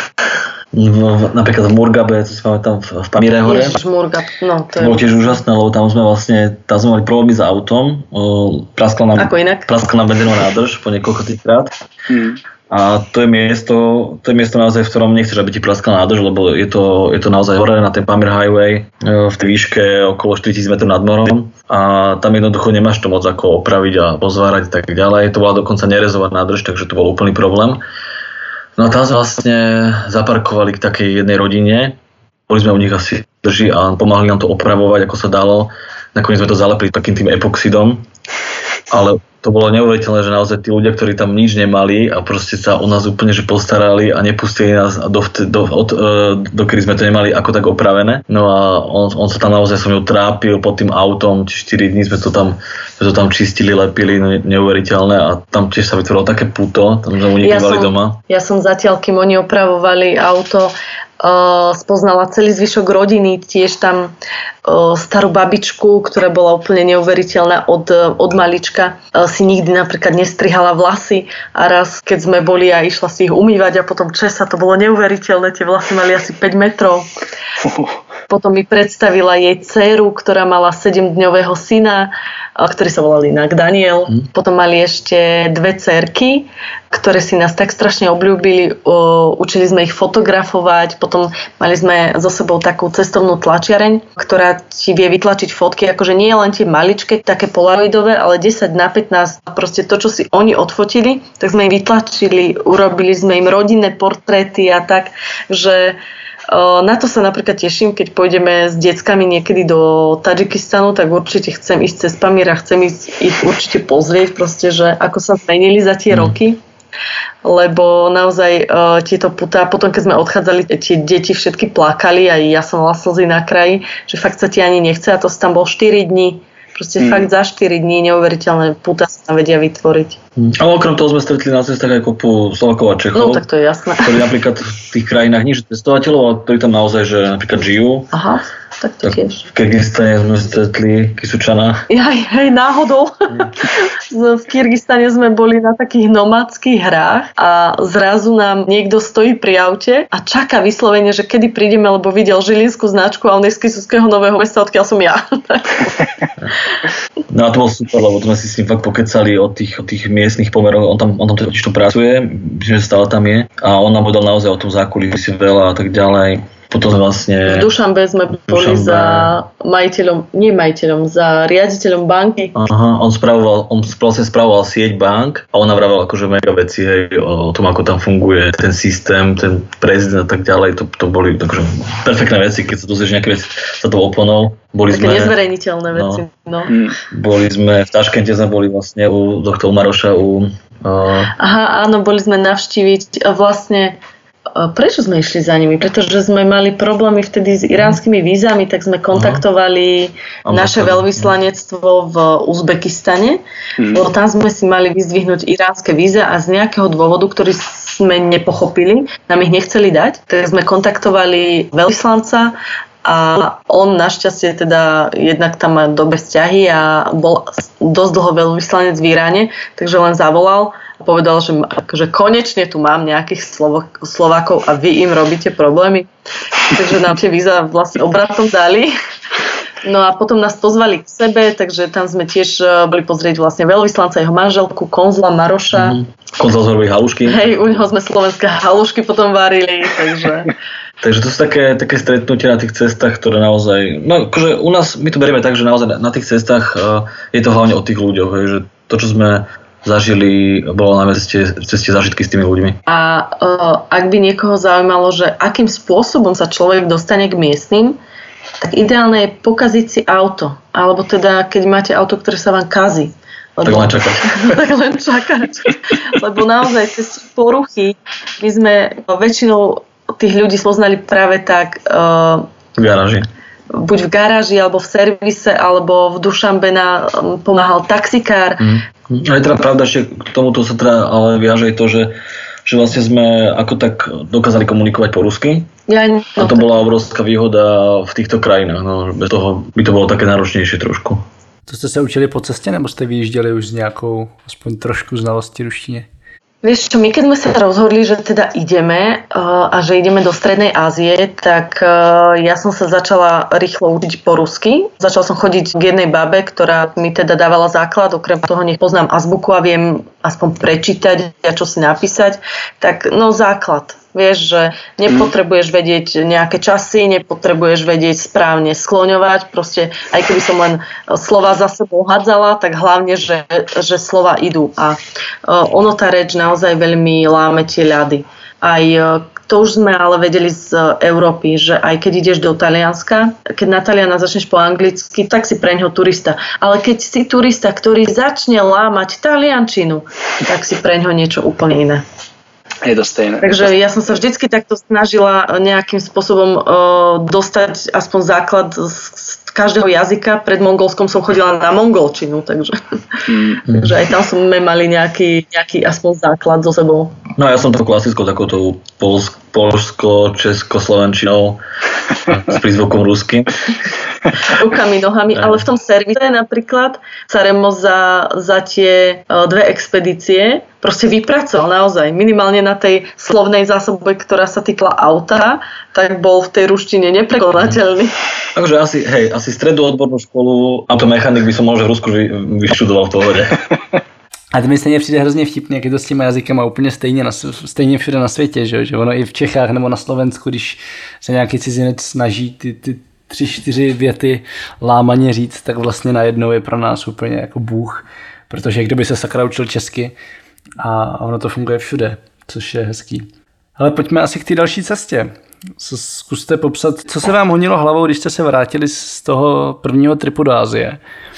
No, napríklad v Murgabe, to si pamätám v, v Pamíre hore. Ježiš, Murgab, no to, to bolo tiež úžasné, lebo tam sme vlastne, tam sme mali problémy s autom. O, praskla nám, ako inak? Praskla nám benzínová nádrž po niekoľko týkrát. Hmm. A to je miesto, to je miesto naozaj, v ktorom nechceš, aby ti praskla nádrž, lebo je to, je to naozaj hore na ten Pamir Highway v tej výške okolo štyritisíc metrov nad morom a tam jednoducho nemáš to moc ako opraviť a pozvárať a tak ďalej. To bola dokonca nerezová nádrž, takže to bol úplný problém. No a tam sme vlastne zaparkovali k takej jednej rodine, boli sme u nich asi drži a pomáhali nám to opravovať, ako sa dalo. Nakoniec sme to zalepili takým tým epoxidom, ale to bolo neuveriteľné, že naozaj tí ľudia, ktorí tam nič nemali a proste sa o nás úplne že postarali a nepustili nás do, do, od, dokedy sme to nemali ako tak opravené. No a on, on sa tam naozaj so mnou trápil pod tým autom, štyri dní sme to tam, sme to tam čistili, lepili, neuveriteľné a tam tiež sa vytvorilo také puto, tam sme u nich ja bývali som, doma. Ja som zatiaľ, kým oni opravovali auto, Uh, spoznala celý zvyšok rodiny, tiež tam uh, starú babičku, ktorá bola úplne neuveriteľná od, od malička. Uh, si nikdy napríklad nestrihala vlasy a raz, keď sme boli a išla si ich umývať a potom česa, to bolo neuveriteľné, tie vlasy mali asi päť metrov. Potom mi predstavila jej dcéru, ktorá mala sedemdňového syna, ktorý sa volal inak Daniel. Mm. Potom mali ešte dve dcérky, ktoré si nás tak strašne obľúbili. Učili sme ich fotografovať. Potom mali sme so sebou takú cestovnú tlačiareň, ktorá ti vie vytlačiť fotky. Akože nie len tie maličké, také polaroidové, ale desať na pätnásť. Proste to, čo si oni odfotili, tak sme im vytlačili. Urobili sme im rodinné portréty a tak, že na to sa napríklad teším, keď pôjdeme s deckami niekedy do Tadžikistanu, tak určite chcem ísť cez Pamír a chcem ísť ich určite pozrieť, proste, že ako sa zmenili za tie mm. roky. Lebo naozaj uh, tieto putá, potom keď sme odchádzali, tie deti všetky plakali a ja som mala slzy na kraji, že fakt sa ti ani nechce a to tam bol štyri dni. Proste mm. fakt za štyri dní neuveriteľné púta sa tam vedia vytvoriť. Mm. Ale okrem toho sme stretli na cestách aj kopu Slovakov a Čechov. No tak to je jasné. Ktorí napríklad v tých krajinách nie sú cestovateľov, ale ktorí tam naozaj, že napríklad žijú. Aha, tak to tak tiež. V Kyrgyzstane sme stretli Kisučana. Jaj, hej, náhodou. V Kyrgyzstane sme boli na takých nomadských hrách a zrazu nám niekto stojí pri aute a čaká vyslovene, že kedy prídeme, lebo videl žilinskú značku a on je z Kisuckého Nového Mesta, odkiaľ som ja. No a to bolo super, lebo sme si s ním fakt pokecali o tých, o tých miestnych pomeroch, on tam, on tam totiž to pracuje, myslím, že stále tam je a on nám povedal naozaj o tom zákulisí veľa a tak ďalej. Potom vlastne... V Dušanbe sme boli Dušanbe. za majiteľom, nie majiteľom, za riaditeľom banky. Aha, on spravoval, on vlastne spravoval sieť bank a on navravel akože mega veci, hej, o tom, ako tam funguje ten systém, ten prezident a tak ďalej. To, to boli takže perfektné veci, keď sa dozvieš nejaké veci za tou oponou. Boli také sme, nezverejniteľné veci, no. no. Boli sme, v Taškente sme boli vlastne u doktora Maroša, u... Uh... Aha, áno, boli sme navštíviť vlastne. Prečo sme išli za nimi? Pretože sme mali problémy vtedy s iránskymi vízami, tak sme kontaktovali uh-huh. naše veľvyslanectvo v Uzbekistane, uh-huh. lebo tam sme si mali vyzdvihnúť iránske víza a z nejakého dôvodu, ktorý sme nepochopili, nám ich nechceli dať, tak sme kontaktovali veľvyslanca a on našťastie teda jednak tam má dobré vzťahy a bol dosť dlho veľvyslanec v Iráne, takže len zavolal a povedal, že akože konečne tu mám nejakých Slovo- Slovákov a vy im robíte problémy. Takže nám tie víza vlastne obratom dali. No a potom nás pozvali k sebe, takže tam sme tiež boli pozrieť vlastne veľvyslanca, jeho manželku, konzula Maroša. Mm-hmm. konzalzorové halušky. Hej, u neho sme slovenské halušky potom varili, takže... Takže to sú také, také stretnutia na tých cestách, ktoré naozaj... No akože u nás, my to berieme tak, že naozaj na tých cestách uh, je to hlavne o tých ľuďoch, hej, že to, čo sme zažili, bolo na ceste, ceste zážitky s tými ľuďmi. A uh, ak by niekoho zaujímalo, že akým spôsobom sa človek dostane k miestnym, tak ideálne je pokaziť si auto. Alebo teda, keď máte auto, ktoré sa vám kazí. Lebo, tak len čakať. tak len čakať. Lebo naozaj cez poruchy my sme väčšinou tých ľudí spoznali práve tak uh, v garáži. Buď v garáži, alebo v servise, alebo v Dušanbe nám pomáhal taxikár. Mm. A je teda pravda, že k tomuto sa teda ale viaže aj to, že, že vlastne sme ako tak dokázali komunikovať po rusky. Ja, no, a to tak bola obrovská výhoda v týchto krajinách. No, bez toho by to bolo také náročnejšie trošku. To jste se učili po cestě, nebo jste vyjížděli už s nějakou aspoň trošku znalosti ruštiny? Vieš čo, my keď sme sa rozhodli, že teda ideme uh, a že ideme do Strednej Ázie, tak uh, ja som sa začala rýchlo učiť po rusky. Začala som chodiť k jednej babe, ktorá mi teda dávala základ, okrem toho nech poznám azbuku a viem aspoň prečítať a čo si napísať. Tak no základ. Vieš, že nepotrebuješ vedieť nejaké časy, nepotrebuješ vedieť správne skloňovať, proste aj keby som len slova za sebou hádzala, tak hlavne, že, že slova idú. A ono tá reč naozaj veľmi láme tie ľady. Aj to už sme ale vedeli z Európy, že aj keď ideš do Talianska, keď na Taliana začneš po anglicky, tak si preňho turista. Ale keď si turista, ktorý začne lámať taliančinu, tak si preňho niečo úplne iné. Je to stejné. Takže ja som sa vždycky takto snažila nejakým spôsobom uh, dostať aspoň základ z, z každého jazyka. Pred Mongolskom som chodila na mongolčinu, takže, mm. takže aj tam sme mali nejaký, nejaký aspoň základ so sebou. No ja som to klasickou takouto polsko-českoslovenčinou s prízvukom rusky. Rukami, nohami, ale v tom servise napríklad sa Remo za, za tie dve expedície proste vypracoval naozaj. Minimálne na tej slovnej zásobe, ktorá sa týkala auta, tak bol v tej ruštine neprekonateľný. Takže asi, hej, asi strednú odbornú školu automechanik by som možno v Rusku vy, vyštudoval v pohode. A to mi stejně přijde hrozně vtipně, jak je to s těma jazykama úplně stejně, na, stejně všude na světě, že, že ono i v Čechách nebo na Slovensku, když se nějaký cizinec snaží ty, ty tři, čtyři věty lámaně říct, tak vlastně najednou je pro nás úplně jako bůh, protože kdo by se sakra učil česky a ono to funguje všude, což je hezký. Ale pojďme asi k té další cestě. Zkuste popsat, co se vám honilo hlavou, když jste se vrátili z toho prvního tripu do Asie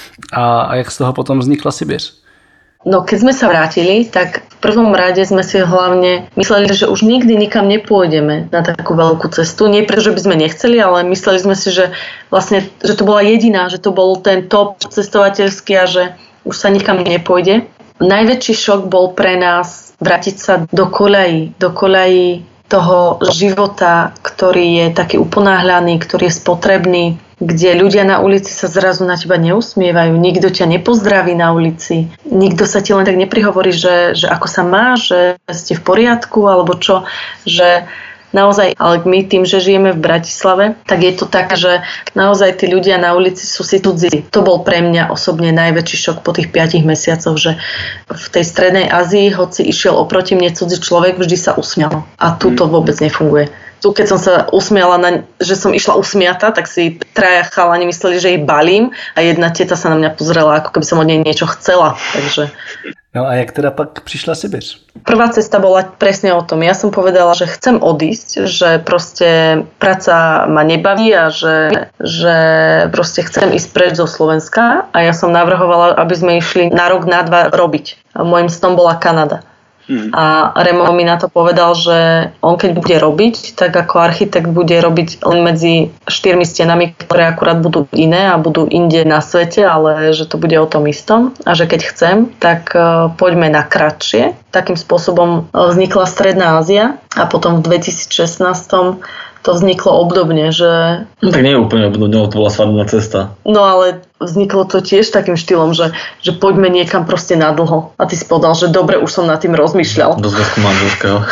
a, a jak z toho potom vznikla Sibiř? No keď sme sa vrátili, tak v prvom rade sme si hlavne mysleli, že už nikdy nikam nepôjdeme na takú veľkú cestu. Nie preto, že by sme nechceli, ale mysleli sme si, že vlastne, že to bola jediná, že to bol ten top cestovateľský a že už sa nikam nepôjde. Najväčší šok bol pre nás vrátiť sa do koľají, do koľají toho života, ktorý je taký uponáhľaný, ktorý je spotrebný, kde ľudia na ulici sa zrazu na teba neusmievajú, nikto ťa nepozdraví na ulici, nikto sa ti len tak neprihovorí, že, že ako sa máš, že ste v poriadku, alebo čo, že naozaj, ale my tým, že žijeme v Bratislave, tak je to tak, že naozaj tí ľudia na ulici sú si cudzí. To bol pre mňa osobne najväčší šok po tých piatich mesiacoch, že v tej Strednej Ázii, hoci išiel oproti mne cudzí človek, vždy sa usmial. A tu to vôbec nefunguje. Tu keď som sa usmiala, na, že som išla usmiata, tak si traja chalani mysleli, že jej balím a jedna teta sa na mňa pozrela, ako keby som od nej niečo chcela. Takže... No a jak teda pak prišla Sibiř? Prvá cesta bola presne o tom. Ja som povedala, že chcem odísť, že proste práca ma nebaví a že, že proste chcem ísť preč zo Slovenska a ja som navrhovala, aby sme išli na rok, na dva robiť. A môjim snom bola Kanada. Hmm. A Remo mi na to povedal, že on keď bude robiť, tak ako architekt bude robiť len medzi štyrmi stenami, ktoré akurát budú iné a budú inde na svete, ale že to bude o tom istom a že keď chcem, tak uh, poďme na kratšie. Takým spôsobom vznikla Stredná Ázia a potom v dvetisícšestnásť to vzniklo obdobne, že... No tak nie je úplne obdobne, to bola svadobná cesta. No ale vzniklo to tiež takým štýlom, že, že poďme niekam proste na dlho. A ty si povedal, že dobre, už som nad tým rozmýšľal. Do zväzku manželského.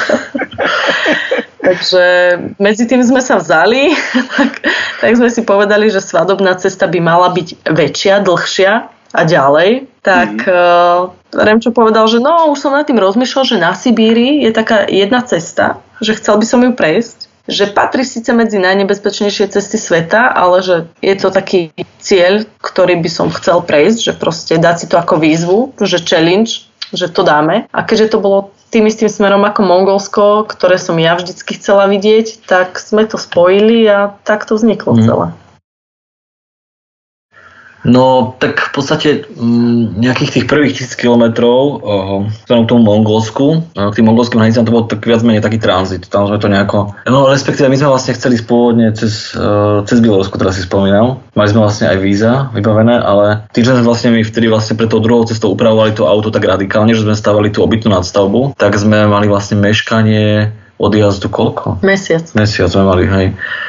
Takže medzi tým sme sa vzali, tak, tak sme si povedali, že svadobná cesta by mala byť väčšia, dlhšia a ďalej. tak mm-hmm. uh, Remčo povedal, že no, už som nad tým rozmýšľal, že na Sibíri je taká jedna cesta, že chcel by som ju prejsť, že patrí síce medzi najnebezpečnejšie cesty sveta, ale že je to taký cieľ, ktorý by som chcel prejsť, že proste dať si to ako výzvu, že challenge, že to dáme. A keďže to bolo tým istým smerom ako Mongolsko, ktoré som ja vždycky chcela vidieť, tak sme to spojili a tak to vzniklo mm. celé. No, tak v podstate m, nejakých tých prvých tisíc kilometrov k tomu Mongolsku, k tým mongolským hranicám to bol tak viac menej taký tranzit. Tam sme to nejako... No, respektíve my sme vlastne chceli spôvodne cez, uh, cez Bielorusko, teraz si spomínal. Mali sme vlastne aj víza vybavené, ale tým, že sme vlastne my vtedy vlastne pre tou druhou cestou upravovali to auto tak radikálne, že sme stavali tú obytnú nadstavbu, tak sme mali vlastne meškanie odjazdu koľko? Mesiac. Mesiac sme mali, hej.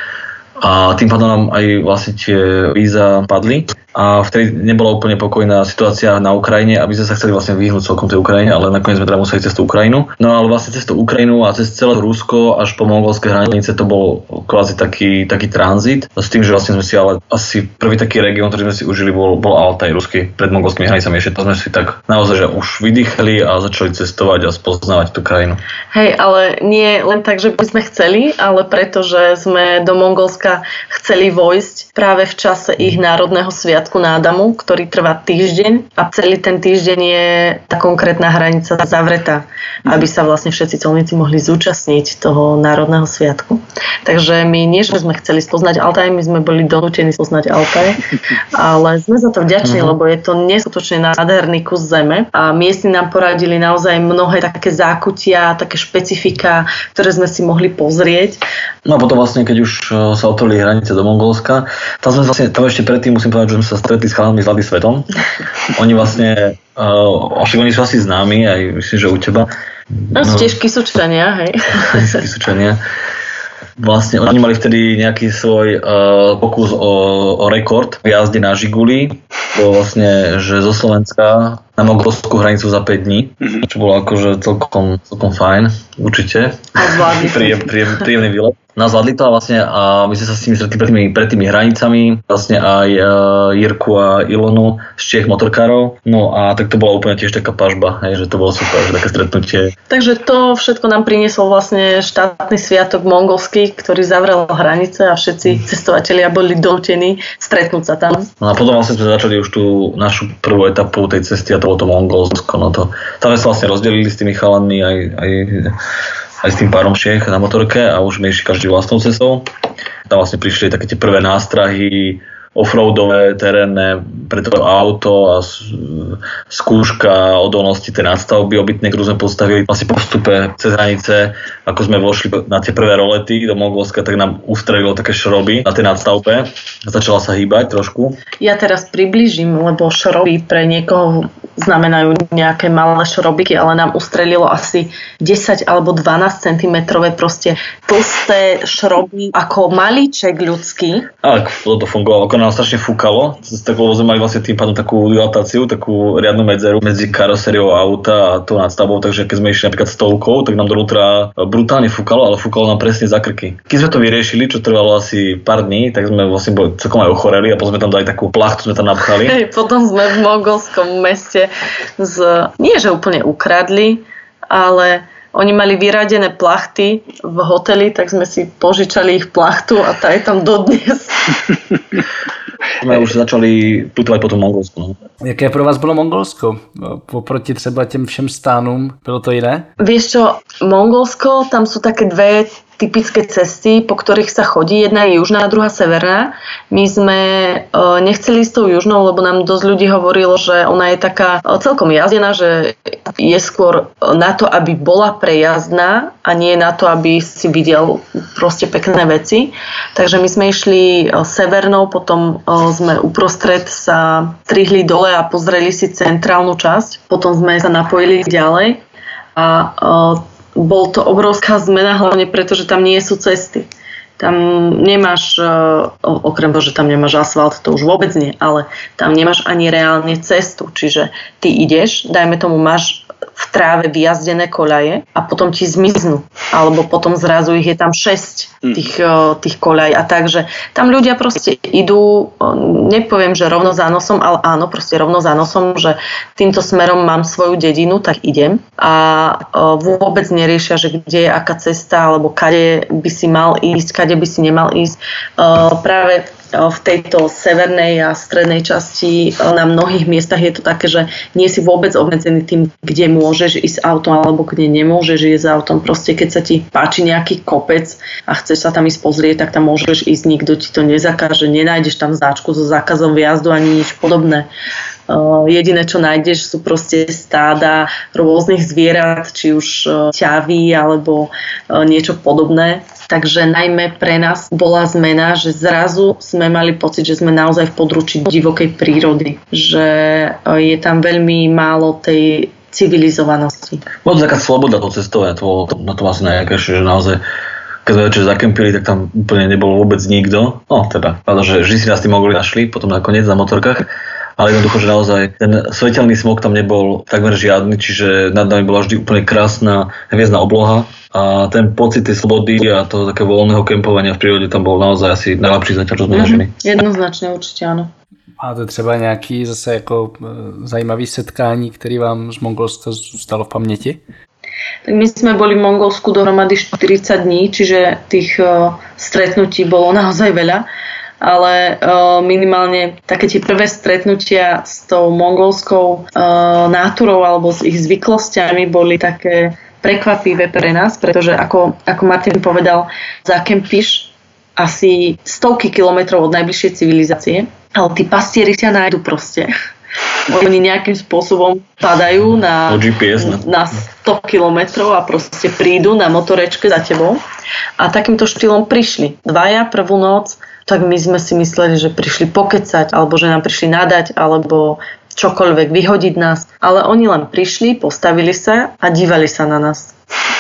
A tým pádom nám aj vlastne tie víza padli. A vtedy nebola úplne pokojná situácia na Ukrajine, aby sme sa chceli vlastne vyhnúť celkom tej Ukrajine, ale nakoniec sme teda museli cez tú Ukrajinu. No ale vlastne cez tú Ukrajinu a cez celé Rusko až po mongolské hranice to bol kvázi taký, taký tranzit. S tým, že vlastne sme si ale asi prvý taký región, ktorý sme si užili, bol, bol Altaj ruský pred mongolskými hranicami. Ešte to sme si tak naozaj, že už vydýchali a začali cestovať a spoznávať tú krajinu. Hej, ale nie len tak, že by sme chceli, ale preto, že sme do Mongolska chceli vojsť práve v čase ich národného sviatku Nádamu, ktorý trvá týždeň a celý ten týždeň je tá konkrétna hranica zavretá, aby sa vlastne všetci colníci mohli zúčastniť toho národného sviatku. Takže my nie, že sme chceli spoznať Altaj, my sme boli donútení spoznať Altaj, ale sme za to vďační, uh-huh. lebo je to neskutočne nádherný kus zeme a miestni nám poradili naozaj mnohé také zákutia, také špecifika, ktoré sme si mohli pozrieť. No a potom vlastne, keď už sa otvorili hranice do Mongolska, tam sme vlastne, tam ešte predtým musím povedať, že sme sa stretli s chalami z Hľady svetom. Oni vlastne, uh, však oni sú asi známi, aj myslím, že u teba. No, no tiež Kysučania, hej. Kysučania. Vlastne oni mali vtedy nejaký svoj uh, pokus o, o rekord v jazde na Žiguli. Bolo vlastne, že zo Slovenska na mongolskú hranicu za päť dní, čo bolo akože celkom, celkom fajn, určite. A zvládli. Príjem, príjem, príjemný výlet. No zvládli to a vlastne a my sme sa s nimi stretli pred tými, pred tými hranicami, vlastne aj uh, Jirku a Ilonu z Čiech motorkárov. No a tak to bola úplne tiež taká pažba, hej, že to bolo super, že také stretnutie. Takže to všetko nám priniesol vlastne štátny sviatok mongolský, ktorý zavrel hranice a všetci cestovatelia boli donútení stretnúť sa tam. No a potom vlastne sme začali už tú našu prvú etapu tej cesty a to bolo to Mongolsko. No to, tam sme sa vlastne rozdelili s tými chalanmi aj, aj aj s tým párom Čiech na motorke a už sme išli každý vlastnou cestou. Tam vlastne prišli také tie prvé nástrahy offroadové, terénne pre to auto a skúška odolnosti tej nadstavby obytnej, ktorú sme postavili vlastne po vstupe cez hranice. Ako sme vošli na tie prvé rolety do Mongolska, tak nám ustrelilo také šroby na tej nadstavbe. Začala sa hýbať trošku. Ja teraz priblížim, lebo šroby pre niekoho znamenajú nejaké malé šrobiky, ale nám ustrelilo asi desať alebo dvanásť centimetrové proste tlsté šroby ako malíček ľudský. Ale to fungovalo, ako nám strašne fúkalo, lebo sme mali vlastne tým pádom takú dilatáciu, takú riadnu medzeru medzi karosériou auta a tou nadstavbou, takže keď sme išli napríklad stovkou, tak nám donútra brutálne fúkalo, ale fúkalo nám presne za krky. Keď sme to vyriešili, čo trvalo asi pár dní, tak sme vlastne boli celkom aj ochoreli a potom sme tam dali takú plachtu, sme tam napchali. Hej, potom sme v mongolskom meste z, nie že úplne ukradli, ale oni mali vyradené plachty v hoteli, tak sme si požičali ich plachtu a tá je tam dodnes. Jsme už začali putovať po tom Mongolsku. No. Jaké pro vás bylo Mongolsko? Poproti třeba těm všem stánům, bylo to jiné? Vieš čo, Mongolsko, tam sú také dve typické cesty, po ktorých sa chodí. Jedna je južná, druhá severná. My sme uh, nechceli ísť tou južnou, lebo nám dosť ľudí hovorilo, že ona je taká uh, celkom jazdená, že je skôr na to, aby bola prejazdná a nie na to, aby si videl proste pekné veci. Takže my sme išli uh, severnou, potom uh, sme uprostred sa strihli dole a pozreli si centrálnu časť. Potom sme sa napojili ďalej a uh, bol to obrovská zmena, hlavne preto, že tam nie sú cesty. Tam nemáš, okrem toho, že tam nemáš asfalt, to už vôbec nie, ale tam nemáš ani reálne cestu. Čiže ty ideš, dajme tomu, máš v v tráve vyjazdené koľaje a potom ti zmiznú. Alebo potom zrazu ich je tam šesť tých, tých koľaj. A takže tam ľudia proste idú, nepoviem, že rovno za nosom, ale áno, proste rovno za nosom, že týmto smerom mám svoju dedinu, tak idem. A vôbec neriešia, že kde je aká cesta, alebo kade by si mal ísť, kade by si nemal ísť. Práve v tejto severnej a strednej časti na mnohých miestach je to také, že nie si vôbec obmedzený tým, kde môžeš ísť autom alebo kde nemôžeš ísť autom. Proste keď sa ti páči nejaký kopec a chceš sa tam ísť pozrieť, tak tam môžeš ísť, nikto ti to nezakáže, nenájdeš tam značku so zákazom vjazdu ani nič podobné. Uh, jediné, čo nájdeš, sú proste stáda rôznych zvierat, či už uh, ťavy alebo uh, niečo podobné. Takže najmä pre nás bola zmena, že zrazu sme mali pocit, že sme naozaj v područí divokej prírody. Že uh, je tam veľmi málo tej civilizovanosti. Bola taká sloboda to cestovania, to bolo na tom asi najjakrejšie, že naozaj keď sme večer zakempili, tak tam úplne nebolo vôbec nikto. No teda, pretože vždy si nás tí mogli našli, potom nakoniec na motorkách. Ale jednoducho, že naozaj ten svetelný smog tam nebol takmer žiadny, čiže nad nami bola vždy úplne krásna hviezdna obloha a ten pocit tej slobody a toho takého voľného kempovania v prírode tam bol naozaj asi najlepší zatiaľ, čo sme zažili. Mm-hmm. Jednoznačne určite áno. Máte třeba nějaký zase jako zajímavý setkání, který vám z Mongolska zůstalo v paměti? Tak my sme boli v Mongolsku dohromady štyridsať dní, čiže tých uh, stretnutí bolo naozaj veľa. Ale uh, minimálne také tie prvé stretnutia s tou mongolskou uh, náturou alebo s ich zvyklostiami boli také prekvapivé pre nás, pretože ako, ako Martin povedal, zakempíš asi stovky kilometrov od najbližšej civilizácie, ale tí pastieri sa nájdu proste. Oni nejakým spôsobom padajú na, na sto kilometrov a proste prídu na motorečke za tebou. A takýmto štýlom prišli. Dvaja prvú noc, tak my sme si mysleli, že prišli pokecať, alebo že nám prišli nadať, alebo čokoľvek, vyhodiť nás. Ale oni len prišli, postavili sa a dívali sa na nás.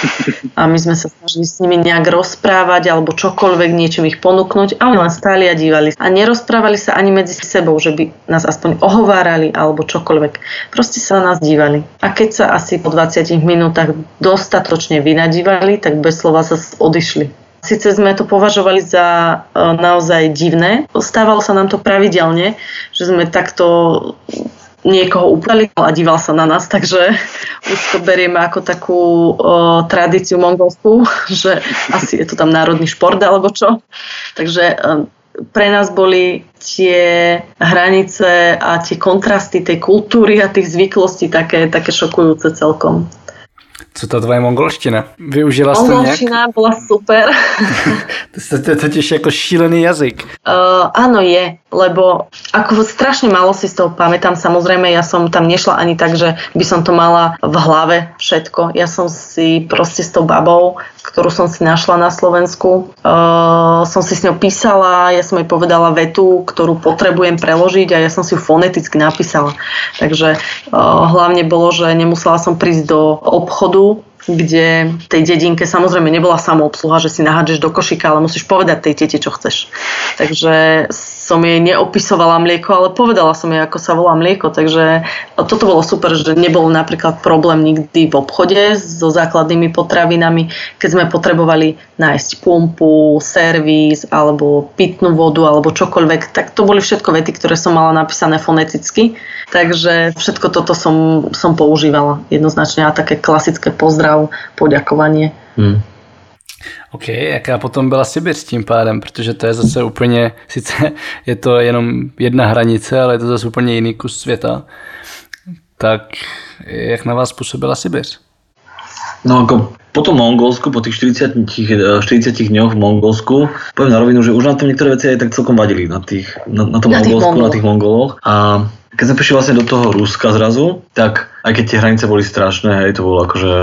A my sme sa snažili s nimi nejak rozprávať alebo čokoľvek, niečím ich ponúknuť a oni len stáli a dívali. A nerozprávali sa ani medzi sebou, že by nás aspoň ohovárali alebo čokoľvek. Proste sa na nás dívali. A keď sa asi po dvadsiatich minútach dostatočne vynadívali, tak bez slova sa odišli. Sice sme to považovali za e, naozaj divné, stávalo sa nám to pravidelne, že sme takto niekoho upali a díval sa na nás, takže už to berieme ako takú o, tradíciu mongolskú, že asi je to tam národný šport alebo čo. Takže o, pre nás boli tie hranice a tie kontrasty tej kultúry a tých zvyklostí také, také šokujúce celkom. Co ta tvoje mongolština? Využila jste nějak? Mongolština bola super. To je totiž jako šílený jazyk. Uh, áno je, lebo ako strašne málo si z toho pamätám. Samozrejme, ja som tam nešla ani tak, že by som to mala v hlave všetko. Ja som si proste s tou babou, ktorú som si našla na Slovensku, uh, som si s ňou písala, ja som jej povedala vetu, ktorú potrebujem preložiť a ja som si ju foneticky napísala. Takže uh, hlavne bolo, že nemusela som prísť do obchodu, kde v tej dedinke samozrejme nebola samoobsluha, že si nahádžeš do košíka, ale musíš povedať tej tete, čo chceš. Takže som jej neopisovala mlieko, ale povedala som jej, ako sa volá mlieko. Takže toto bolo super, že nebol napríklad problém nikdy v obchode so základnými potravinami, keď sme potrebovali nájsť pumpu, servis alebo pitnú vodu alebo čokoľvek, tak to boli všetko vety, ktoré som mala napísané foneticky. Takže všetko toto som, som používala jednoznačne a také klasické pozdrav, poďakovanie. Hmm. OK, jaká potom byla Sibiř tím pádem, protože to je zase úplně, sice je to jenom jedna hranice, ale je to zase úplně jiný kus světa. Tak jak na vás působila Sibiř? No ako po tom Mongolsku, po tých štyridsiatich dňoch v Mongolsku, poviem na rovinu, že už nám tam niektoré veci aj tak celkom vadili na, tých, na, na tom na Mongolsku, na tých Mongoloch. A keď sme prišli vlastne do toho Ruska zrazu, tak aj keď tie hranice boli strašné, hej, to bolo akože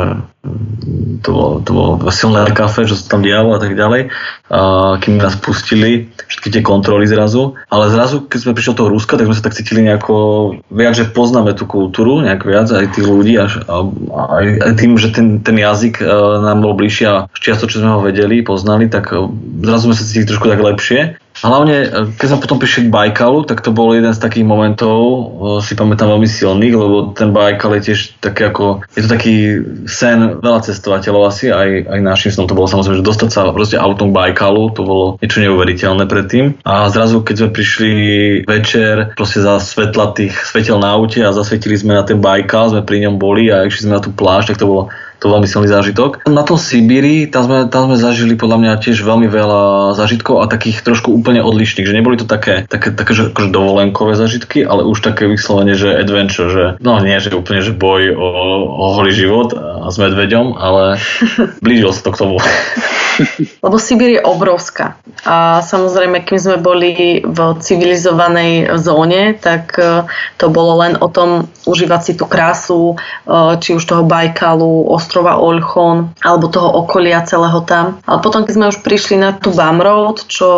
to bolo, to bolo silné kafe, čo sa tam dialo a tak ďalej, a kým nás pustili všetky tie kontroly zrazu, ale zrazu keď sme prišli do toho Ruska, tak sme sa tak cítili nejako viac, že poznáme tú kultúru, nejak viac aj tých ľudí a, a, a aj tým, že ten, ten jazyk nám bol bližšie a čiasto, čo sme ho vedeli, poznali, tak zrazu sme sa cítili trošku tak lepšie. hlavne, keď sme potom prišli k Bajkalu, tak to bol jeden z takých momentov, si pamätám veľmi silných, lebo ten Bajkal je tiež taký ako, je to taký sen veľa cestovateľov asi, aj, aj našim snom to bolo samozrejme, že dostať sa proste autom k Bajkalu, to bolo niečo neuveriteľné predtým. A zrazu, keď sme prišli večer, proste za svetla tých svetel na aute a zasvietili sme na ten Bajkal, sme pri ňom boli a išli sme na tú pláž, tak to bolo to veľmi silný zážitok. Na tom Sibíri, tam sme, tam sme zažili podľa mňa tiež veľmi veľa zážitkov a takých trošku úplne odlišných, že neboli to také, také, také že akože dovolenkové zážitky, ale už také vyslovene, že adventure, že no nie, že úplne, že boj o, o holý život a s medveďom, ale blížil sa to k tomu. Lebo Sibír je obrovská a samozrejme, kým sme boli v civilizovanej zóne, tak to bolo len o tom užívať si tú krásu, či už toho Bajkalu, ostrova Olchon, alebo toho okolia celého tam. Ale potom, keď sme už prišli na tú Bum Road, čo...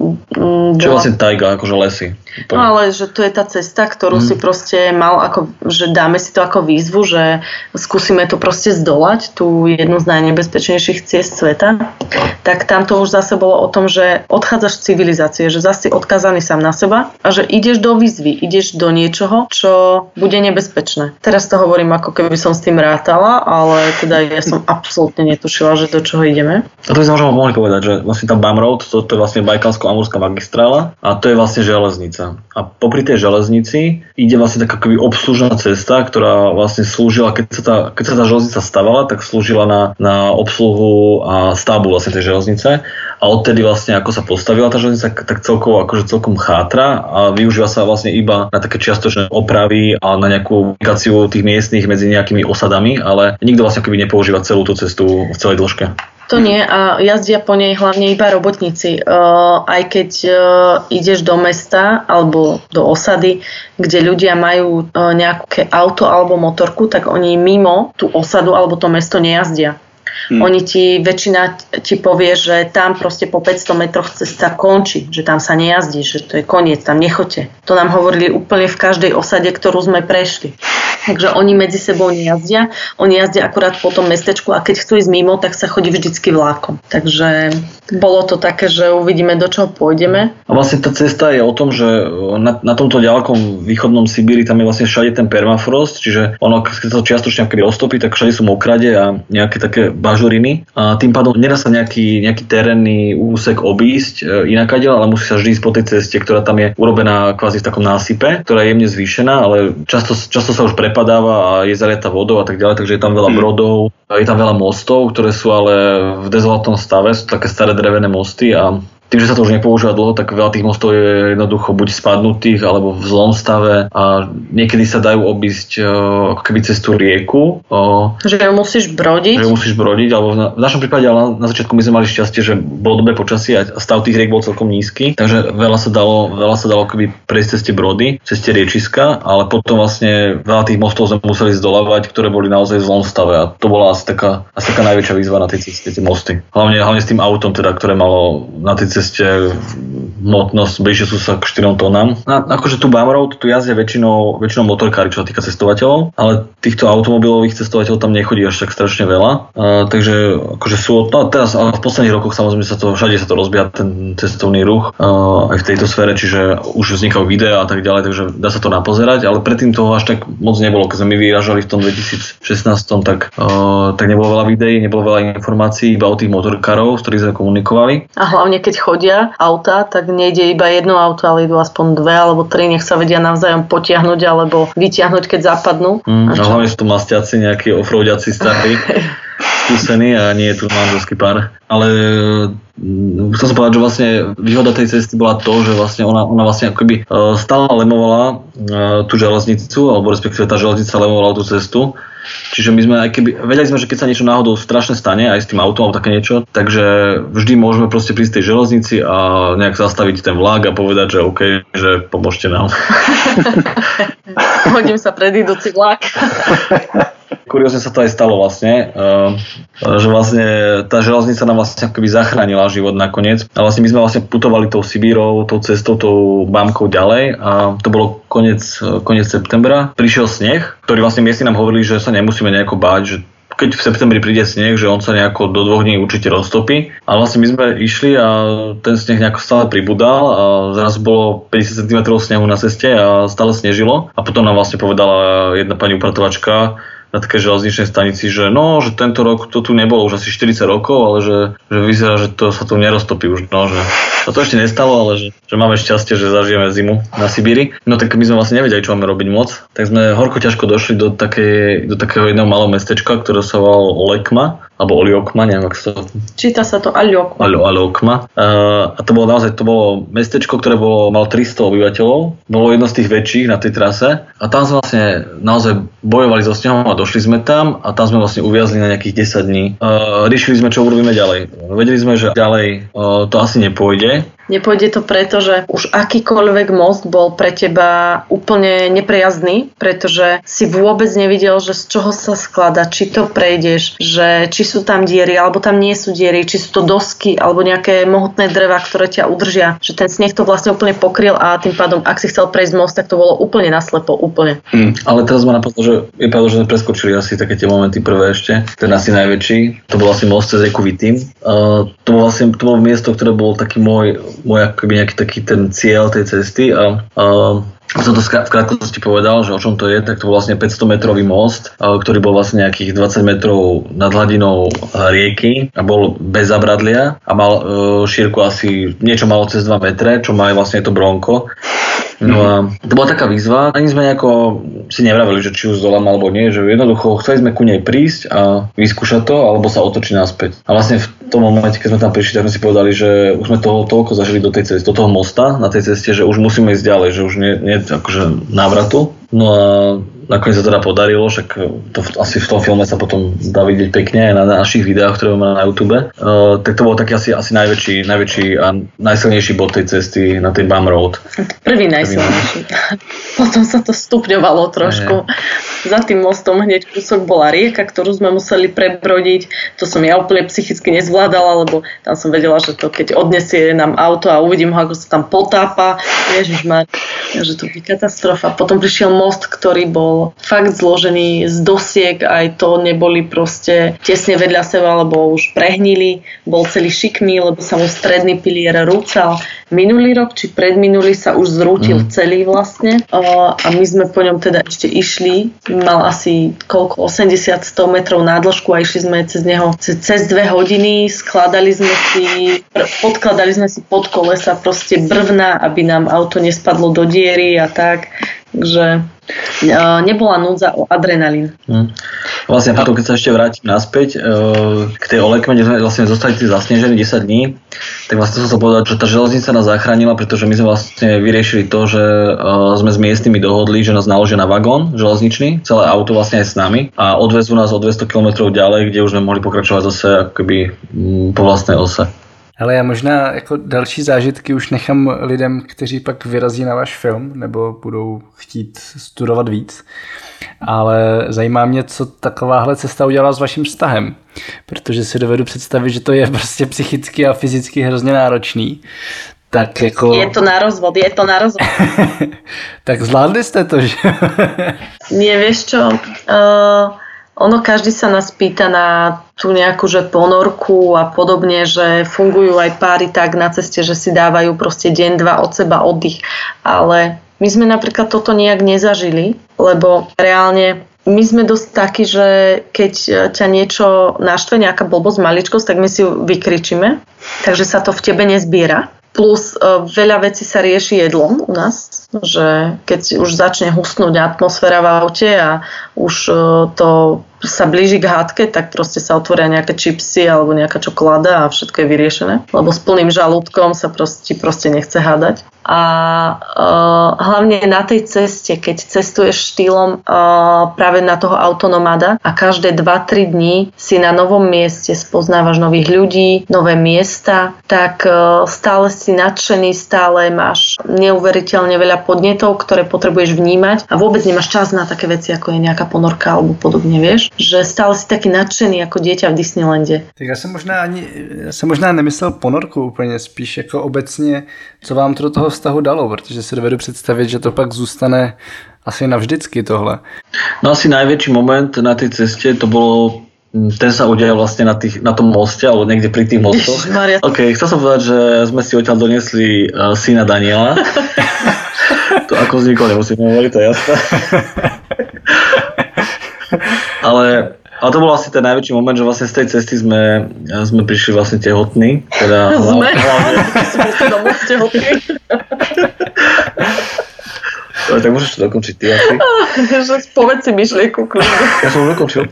Mm, čo bola... vlastne tajga, akože lesy. No ale že to je tá cesta, ktorú mm. si proste mal ako, že dáme si to ako výzvu, že skúsime to proste zdolať, tú jednu z najnebezpečnejších ciest sveta, tak tam to už zase bolo o tom, že odchádzaš z civilizácie, že zase si odkázaný sám na seba a že ideš do výzvy, ideš do niečoho, čo bude nebezpečné. Teraz to hovorím, ako keby som s tým rátala, ale teda ja som absolútne netušila, že do čoho ideme. A to by sme možno mohli povedať, že vlastne tá Bum Road, to, to je vlastne Bajkalsko-Amurská magistrála a to je vlastne železnica. A popri tej železnici ide vlastne taká akoby obslužná cesta, ktorá vlastne slúžila, keď sa tá, keď sa tá železnica stavala, tak slúžila na, na obsluhu a stavbu vlastne tej železnice. A odtedy vlastne ako sa postavila tá železnica, tak celkovo akože celkom chátra a využíva sa vlastne iba na také čiastočné opravy a na nejakú komunikáciu tých miestnych medzi nejakými osadami, ale nikto vlastne akoby nepoužíva celú tú cestu v celej dĺžke. To nie a jazdia po nej hlavne iba robotníci. Uh, aj keď uh, ideš do mesta alebo do osady, kde ľudia majú uh, nejaké auto alebo motorku, tak oni mimo tú osadu alebo to mesto nejazdia. Hmm. Oni ti, väčšina ti povie, že tam proste po päťsto metroch cesta končí, že tam sa nejazdí, že to je koniec, tam nechoďte. To nám hovorili úplne v každej osade, ktorú sme prešli. Takže oni medzi sebou nejazdia, oni jazdia akurát po tom mestečku a keď chcú ísť mimo, tak sa chodí vždycky vlákom. Takže bolo to také, že uvidíme, do čoho pôjdeme. A vlastne tá cesta je o tom, že na, na tomto ďalekom východnom Sibíri tam je vlastne všade ten permafrost, čiže ono, keď sa to čiastočne roztopí, tak všade sú mokrade a nejaké také bažuriny. A tým pádom nedá sa nejaký, nejaký terénny úsek obísť inakadiaľ, ale musí sa vždy ísť po tej ceste, ktorá tam je urobená kvázi v takom násype, ktorá je jemne zvýšená, ale často, často sa už prepadáva a je zaliata vodou a tak ďalej, takže je tam veľa brodov, je tam veľa mostov, ktoré sú ale v dezolátnom stave, sú také staré drevené mosty a tým, že sa to už nepoužíva dlho, tak veľa tých mostov je jednoducho buď spadnutých, alebo v zlom stave a niekedy sa dajú obísť ako keby cez tú rieku. Že musíš brodiť? Že musíš brodiť, alebo v našom prípade ale na začiatku my sme mali šťastie, že bolo dobré počasie a stav tých riek bol celkom nízky, takže veľa sa dalo, veľa sa dalo keby prejsť cez tie brody, cez tie riečiska, ale potom vlastne veľa tých mostov sme museli zdolávať, ktoré boli naozaj v zlom stave a to bola asi taká, asi taká najväčšia výzva na tej ceste, tie mosty. Hlavne, hlavne s tým autom, teda, ktoré malo na tej ceste hmotnosť bližšie sú sa k štyrom tónam. Na, akože tu Bum Road, tu jazdia väčšinou, väčšinou motorkári, čo sa týka cestovateľov, ale týchto automobilových cestovateľov tam nechodí až tak strašne veľa. Uh, takže akože sú, no teraz, ale v posledných rokoch samozrejme sa to, všade sa to rozbieha ten cestovný ruch uh, aj v tejto sfére, čiže už vznikajú videá a tak ďalej, takže dá sa to napozerať, ale predtým toho až tak moc nebolo. Keď sme my vyrážali v tom dvetisícšestnásť, tak, uh, tak nebolo veľa videí, nebolo veľa informácií iba o tých motorkárov, s ktorých sme komunikovali. A hlavne keď chodia auta, tak nejde iba jedno auto, ale idú aspoň dve alebo tri, nech sa vedia navzájom potiahnuť alebo vytiahnuť, keď zapadnú. Mm, a hlavne sú to mastiaci, nejakí offroadiaci starí, skúsení a nie je tu manželský pár. Ale chcel som povedať, že vlastne výhoda tej cesty bola to, že vlastne ona, ona vlastne akoby stále lemovala tú železnicu, alebo respektíve tá železnica lemovala tú cestu. Čiže my sme aj keby, vedeli sme, že keď sa niečo náhodou strašne stane, aj s tým autom, také niečo, takže vždy môžeme proste prísť tej železnici a nejak zastaviť ten vlak a povedať, že OK, že pomôžte nám. Hodím sa pred idúci vlak. Kuriózne sa to aj stalo vlastne, že vlastne tá železnica nám vlastne akoby zachránila život nakoniec. A vlastne my sme vlastne putovali tou Sibírou, tou cestou, tou Bamkou ďalej a to bolo koniec, koniec septembra. Prišiel sneh, ktorý vlastne miestni nám hovorili, že sa nemusíme nejako báť, že keď v septembri príde sneh, že on sa nejako do dvoch dní určite roztopí. A vlastne my sme išli a ten sneh nejako stále pribudal a zrazu bolo päťdesiat centimetrov snehu na ceste a stále snežilo. A potom nám vlastne povedala jedna pani upratovačka na také železničnej stanici, že no, že tento rok to tu nebolo už asi štyridsať rokov, ale že, že vyzerá, že to sa tu neroztopí už, no, že sa to ešte nestalo, ale že, že máme šťastie, že zažijeme zimu na Sibíri. No tak my sme vlastne nevedeli, čo máme robiť moc, tak sme horko ťažko došli do, takej, do takého jedného malého mestečka, ktoré sa volalo Olekma, alebo Oliokma, neviem, ako sa to... Číta sa to Aliokma. Aliokma. Uh, a to bolo naozaj, to bolo mestečko, ktoré bolo, malo tristo obyvateľov, bolo jedno z tých väčších na tej trase a tam sme vlastne naozaj bojovali so snehom a došli sme tam a tam sme vlastne uviazli na nejakých desať dní. Uh, riešili sme, čo urobíme ďalej. Vedeli sme, že ďalej uh, to asi nepôjde. Nepôjde to preto, že už akýkoľvek most bol pre teba úplne neprejazdný, pretože si vôbec nevidel, že z čoho sa skladá, či to prejdeš, že či sú tam diery, alebo tam nie sú diery, či sú to dosky, alebo nejaké mohutné dreva, ktoré ťa udržia. Že ten sneh to vlastne úplne pokryl a tým pádom, ak si chcel prejsť most, tak to bolo úplne naslepo, úplne. Mm, ale teraz ma napadlo, že je pravda, že sme preskočili asi také tie momenty prvé ešte. Ten asi najväčší. To bol asi most cez rieku Vitim. Uh, to bolo vlastne to bolo miesto, ktoré bol taký môj môj akoby nejaký taký ten cieľ tej cesty a, a som to v krátkosti povedal, že o čom to je, tak to bol vlastne päťsto metrový most, ktorý bol vlastne nejakých dvadsať metrov nad hladinou rieky a bol bez zabradlia a mal e, šírku asi niečo malo cez dva metre, čo má aj vlastne to bronko. No a to bola taká výzva, ani sme nejako si nevravili, že či už zdolám alebo nie, že jednoducho chceli sme ku nej prísť a vyskúšať to, alebo sa otočiť naspäť. A vlastne v tom momente, keď sme tam prišli, tak sme si povedali, že už sme toho toľko zažili do tej cesty, do toho mosta na tej ceste, že už musíme ísť ďalej, že už nie, nie akože návratu. No a nakoniec sa teda podarilo, však to asi v tom filme sa potom dá vidieť pekne aj na našich videách, ktoré máme na YouTube. Uh, tak to bol taký asi, asi najväčší, najväčší a najsilnejší bod tej cesty na tej Bum Road. Prvý najsilnejší. Potom sa to stupňovalo trošku. Je. Za tým mostom hneď kúsok bola rieka, ktorú sme museli prebrodiť. To som ja úplne psychicky nezvládala, lebo tam som vedela, že to keď odnesie nám auto a uvidím ho, ako sa tam potápa, ježišmar, že to je katastrofa. Potom prišiel most, ktorý bol fakt zložený z dosiek, aj to neboli proste tesne vedľa seba, lebo už prehnili, bol celý šikmý, lebo sa mu stredný pilier rúcal. Minulý rok, či predminulý sa už zrútil mm. celý vlastne a my sme po ňom teda ešte išli, mal asi koľko, osemdesiat sto metrov nádĺžku a išli sme cez neho cez, cez dve hodiny, skladali sme si, podkladali sme si pod kolesa proste brvna, aby nám auto nespadlo do diery a tak, takže nebola núdza o adrenalín. Hmm. Vlastne potom, keď sa ešte vrátim naspäť k tej Olekme, kde sme vlastne zostali zasnežení desať dní, tak vlastne som sa povedal, že tá železnica nás zachránila, pretože my sme vlastne vyriešili to, že sme s miestnymi dohodli, že nás naložia na vagón železničný, celé auto vlastne aj s nami a odvezú nás o dvesto kilometrov ďalej, kde už sme mohli pokračovať zase akoby po vlastnej ose. Ale já možná jako další zážitky už nechám lidem, kteří pak vyrazí na váš film nebo budou chtít studovat víc. Ale zajímá mě, co takováhle cesta udělala s vaším vztahem. Protože si dovedu představit, že to je prostě psychicky a fyzicky hrozně náročný. Tak jako... Je to na rozvod, je to na rozvod. Tak zvládli jste to, že? Nie, vieš čo... Uh... Ono, každý sa nás pýta na tú nejakú že ponorku a podobne, že fungujú aj páry tak na ceste, že si dávajú proste deň, dva od seba oddych. Ale my sme napríklad toto nejak nezažili, lebo reálne my sme dosť takí, že keď ťa niečo naštve, nejaká blbosť, maličkosť, tak my si ju vykričíme, takže sa to v tebe nezbiera. Plus veľa vecí sa rieši jedlom u nás, že keď už začne husnúť atmosféra v aute a už to sa blíži k hádke, tak proste sa otvoria nejaké čipsy alebo nejaká čokoláda a všetko je vyriešené. Lebo s plným žalúdkom sa proste, proste nechce hádať. A uh, hlavne na tej ceste, keď cestuješ štýlom uh, práve na toho autonomada a každé dva tri dní si na novom mieste spoznávaš nových ľudí, nové miesta, tak uh, stále si nadšený, stále máš neuveriteľne veľa podnetov, ktoré potrebuješ vnímať a vôbec nemáš čas na také veci, ako je nejaká ponorka alebo podobne, vieš? Že stále si taký nadšený ako dieťa v Disneylande. Tak já jsem možná ani, já jsem možná nemyslel ponorku úplně, spíš jako obecně, co vám to do toho vztahu dalo, protože si dovedu představit, že to pak zůstane asi navždycky tohle. No asi najväčší moment na tej ceste to bolo ten sa udial vlastne na, tých, na tom moste, alebo niekde pri tých mostoch. Ok, chcel som povedať, že sme si odtiaľ doniesli uh, syna Daniela. To ako vzniklo, nemusím hovoriť, to je jasné. ale, ale to bol vlastne ten najväčší moment, že vlastne z tej cesty sme, sme prišli vlastne tehotní. Teda, sme? Hlavne. Sme si domov tehotní. No, tak môžeš to dokončiť ty asi. Že povedz si myšlienku kľudne. Ja som už dokončil.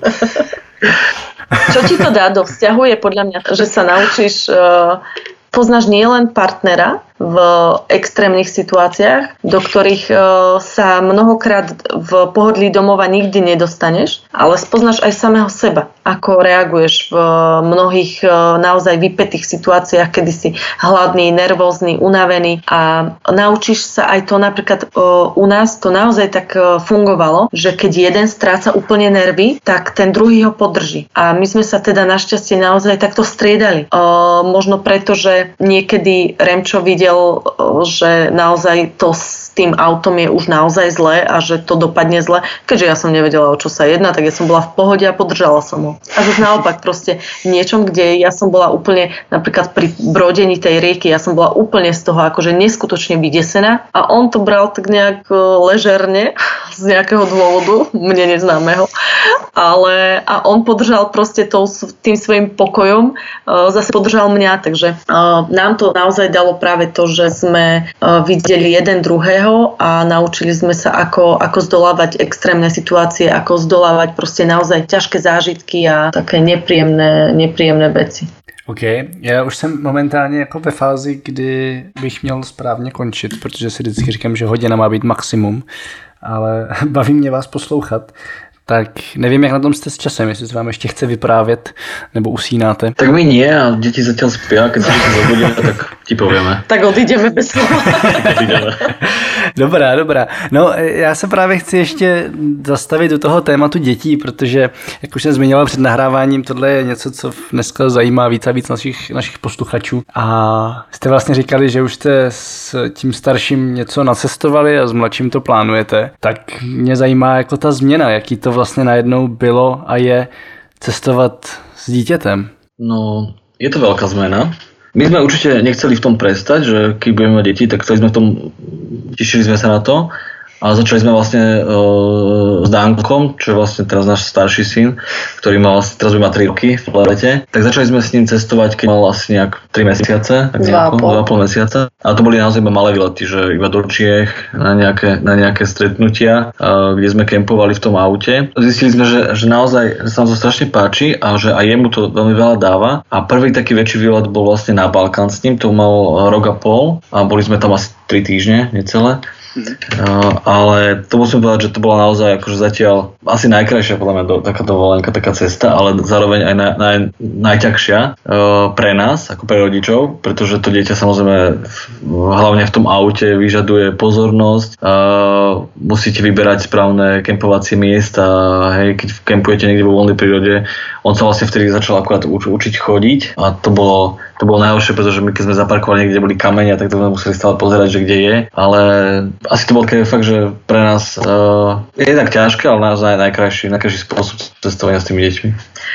Čo ti to dá do vzťahu je podľa mňa, že sa naučíš, uh, poznáš nielen partnera v extrémnych situáciách, do ktorých uh, sa mnohokrát v pohodlí domova nikdy nedostaneš, ale spoznáš aj samého seba, ako reaguješ v mnohých uh, naozaj vypätých situáciách, kedy si hladný, nervózny, unavený a naučíš sa aj to napríklad uh, u nás to naozaj tak uh, fungovalo, že keď jeden stráca úplne nervy, tak ten druhý ho podrží. A my sme sa teda našťastie naozaj takto striedali. Uh, možno preto, že niekedy Remčo videl, že naozaj to s tým autom je už naozaj zlé a že to dopadne zle. Keďže ja som nevedela, o čo sa jedná, tak ja som bola v pohode a podržala som ho. A zase naopak proste niečom, kde ja som bola úplne, napríklad pri brodení tej rieky, ja som bola úplne z toho akože neskutočne vydesená a on to bral tak nejak ležerne z nejakého dôvodu, mne neznámeho. Ale a on podržal proste to, tým svojim pokojom, zase podržal mňa, takže nám to naozaj dalo práve to, že sme videli jeden druhého a naučili sme sa, ako, ako zdolávať extrémne situácie, ako zdolávať proste naozaj ťažké zážitky a také nepříjemné, nepříjemné věci. OK, já už jsem momentálně jako ve fázi, kdy bych měl správně končit, protože si vždycky říkám, že hodina má být maximum, ale baví mě vás poslouchat. Tak nevím, jak na tom jste s časem, jestli se vám ještě chce vyprávět, nebo usínáte. Tak my nie a děti zatiaľ spia, keď sa zobudíme, tak ti povieme. Tak odídeme bez slova. Dobrá, dobrá. No, já se právě chci ještě zastavit do toho tématu dětí, protože, jak už jsem zmiňoval před nahráváním, tohle je něco, co dneska zajímá víc a víc našich, našich posluchačů. A jste vlastně říkali, že už jste s tím starším něco nacestovali a s mladším to plánujete. Tak mě zajímá jako ta změna, jaký to vlastně najednou bylo a je cestovat s dítětem. No, je to veľká zmena. My sme určite nechceli v tom prestať, že keď budeme mať deti, tak chceli sme v tom, tešili sme sa na to. A začali sme vlastne uh, s Dankom, čo je vlastne teraz náš starší syn, ktorý mal vlastne, teraz by má tri roky v lete. Tak začali sme s ním cestovať, keď mal asi nejak tri mesiace, tak dva a pol mesiaca. A to boli naozaj iba malé výlety, že iba do Čiech na nejaké, na nejaké stretnutia, uh, kde sme kempovali v tom aute. Zistili sme, že, že naozaj že sa nám to strašne páči a že aj jemu to veľmi veľa dáva. A prvý taký väčší výlet bol vlastne na Balkán s ním, to mal rok a pol a boli sme tam asi tri týždne, necelé. Uh, ale to musím povedať, že to bola naozaj akože zatiaľ asi najkrajšia podľa mňa do, taká dovolenka, taká cesta, ale zároveň aj naj, naj, najťažšia uh, pre nás, ako pre rodičov, pretože to dieťa samozrejme v, hlavne v tom aute vyžaduje pozornosť, uh, musíte vyberať správne kempovacie miesta, hej, keď kempujete niekde vo voľnej prírode, on sa vlastne vtedy začal akurát uč, učiť chodiť a to bolo To bolo najhoršie, pretože my keď sme zaparkovali niekde, kde boli kamene, tak to sme museli stále pozerať, že kde je. Ale asi to bol taký fakt, že pre nás uh, je tak ťažké, ale naozaj najkrajší, najkrajší spôsob cestovania s tými deťmi.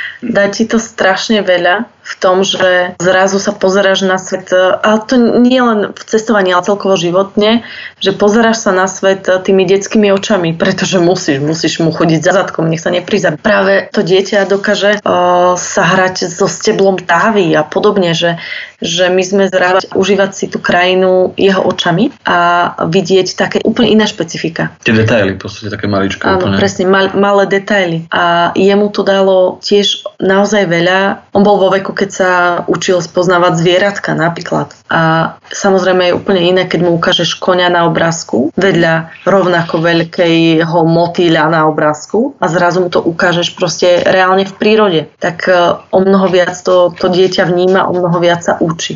Dá ti to strašne veľa v tom, že zrazu sa pozeráš na svet, ale to nie len v cestovaní, ale celkovo životne, že pozeráš sa na svet tými detskými očami, pretože musíš, musíš mu chodiť za zadkom, nech sa neprizabí. Práve to dieťa dokáže uh, sa hrať so steblom távy a podobne, že, že my sme zrávať, užívať si tú krajinu jeho očami a vidieť také úplne iné špecifika. Tie detaily, v podstate také maličké. Áno, úplne. presne, mal, malé detaily. A jemu to dalo tiež naozaj veľa. On bol vo veku, keď sa učil spoznávať zvieratka napríklad. A samozrejme je úplne iné, keď mu ukážeš koňa na obrázku vedľa rovnako veľkého motýľa na obrázku a zrazu mu to ukážeš proste reálne v prírode. Tak o mnoho viac to, to dieťa vníma, o mnoho viac sa učí.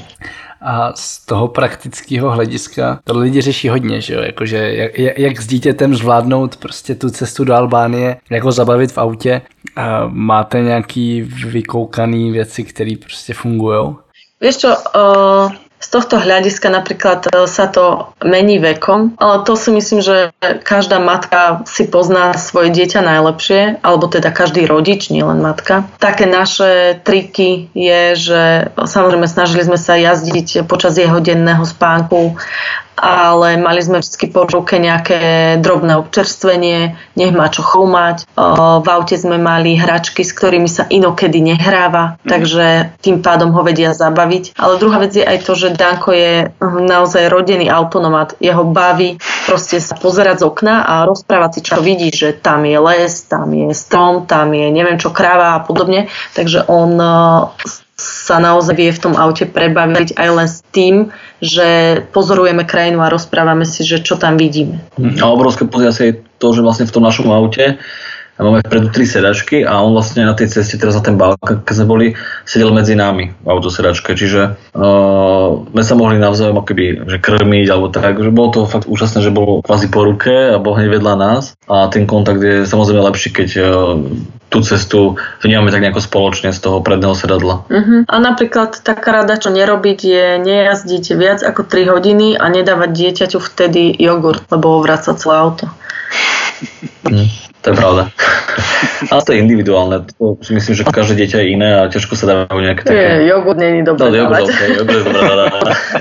A z toho praktického hlediska to lidi řeší hodně, že jo, jakože jak, jak s dítětem zvládnout prostě tu cestu do Albánie, jak ho zabavit v autě. A máte nějaký vykoukaný věci, které prostě fungujou? Vieš čo, uh, z tohto hľadiska napríklad sa to mení vekom, ale to si myslím, že každá matka si pozná svoje dieťa najlepšie, alebo teda každý rodič, nielen matka. Také naše triky je, že samozrejme snažili sme sa jazdiť počas jeho denného spánku, ale mali sme vždy po ruke nejaké drobné občerstvenie, nech má čo choumať. V aute sme mali hračky, s ktorými sa inokedy nehráva, takže tým pádom ho vedia zabaviť. Ale druhá vec je aj to, že Danko je naozaj rodený autonomat. Jeho baví proste sa pozerať z okna a rozprávať si, čo vidí, že tam je les, tam je strom, tam je neviem čo, kráva a podobne. Takže on sa naozaj vie v tom aute prebaviť aj len s tým, že pozorujeme krajinu a rozprávame si, že čo tam vidíme. A obrovské poziacie je to, že vlastne v tom našom aute máme vpredu tri sedačky a on vlastne na tej ceste teraz na ten balkón, keď sme boli, sedel medzi nami v autosedačke, čiže uh, sme sa mohli navzájom akoby, že krmiť alebo tak, že bolo to fakt úžasné, že bol kvázi po ruke a bol hneď vedľa nás a ten kontakt je samozrejme lepší, keď uh, tú cestu vnímame tak nejako spoločne z toho predného sedadla. Uh-huh. A napríklad taká rada, čo nerobiť, je nejazdiť viac ako tri hodiny a nedávať dieťaťu vtedy jogurt, lebo vraca celé auto. Mm, to je pravda. Ale to je individuálne. To si myslím, že každé dieťa je iné a ťažko sa dávajú nejaké také... Je, jogurt nie je dobré no, jogurt, okay, jogurt je dobré dávať.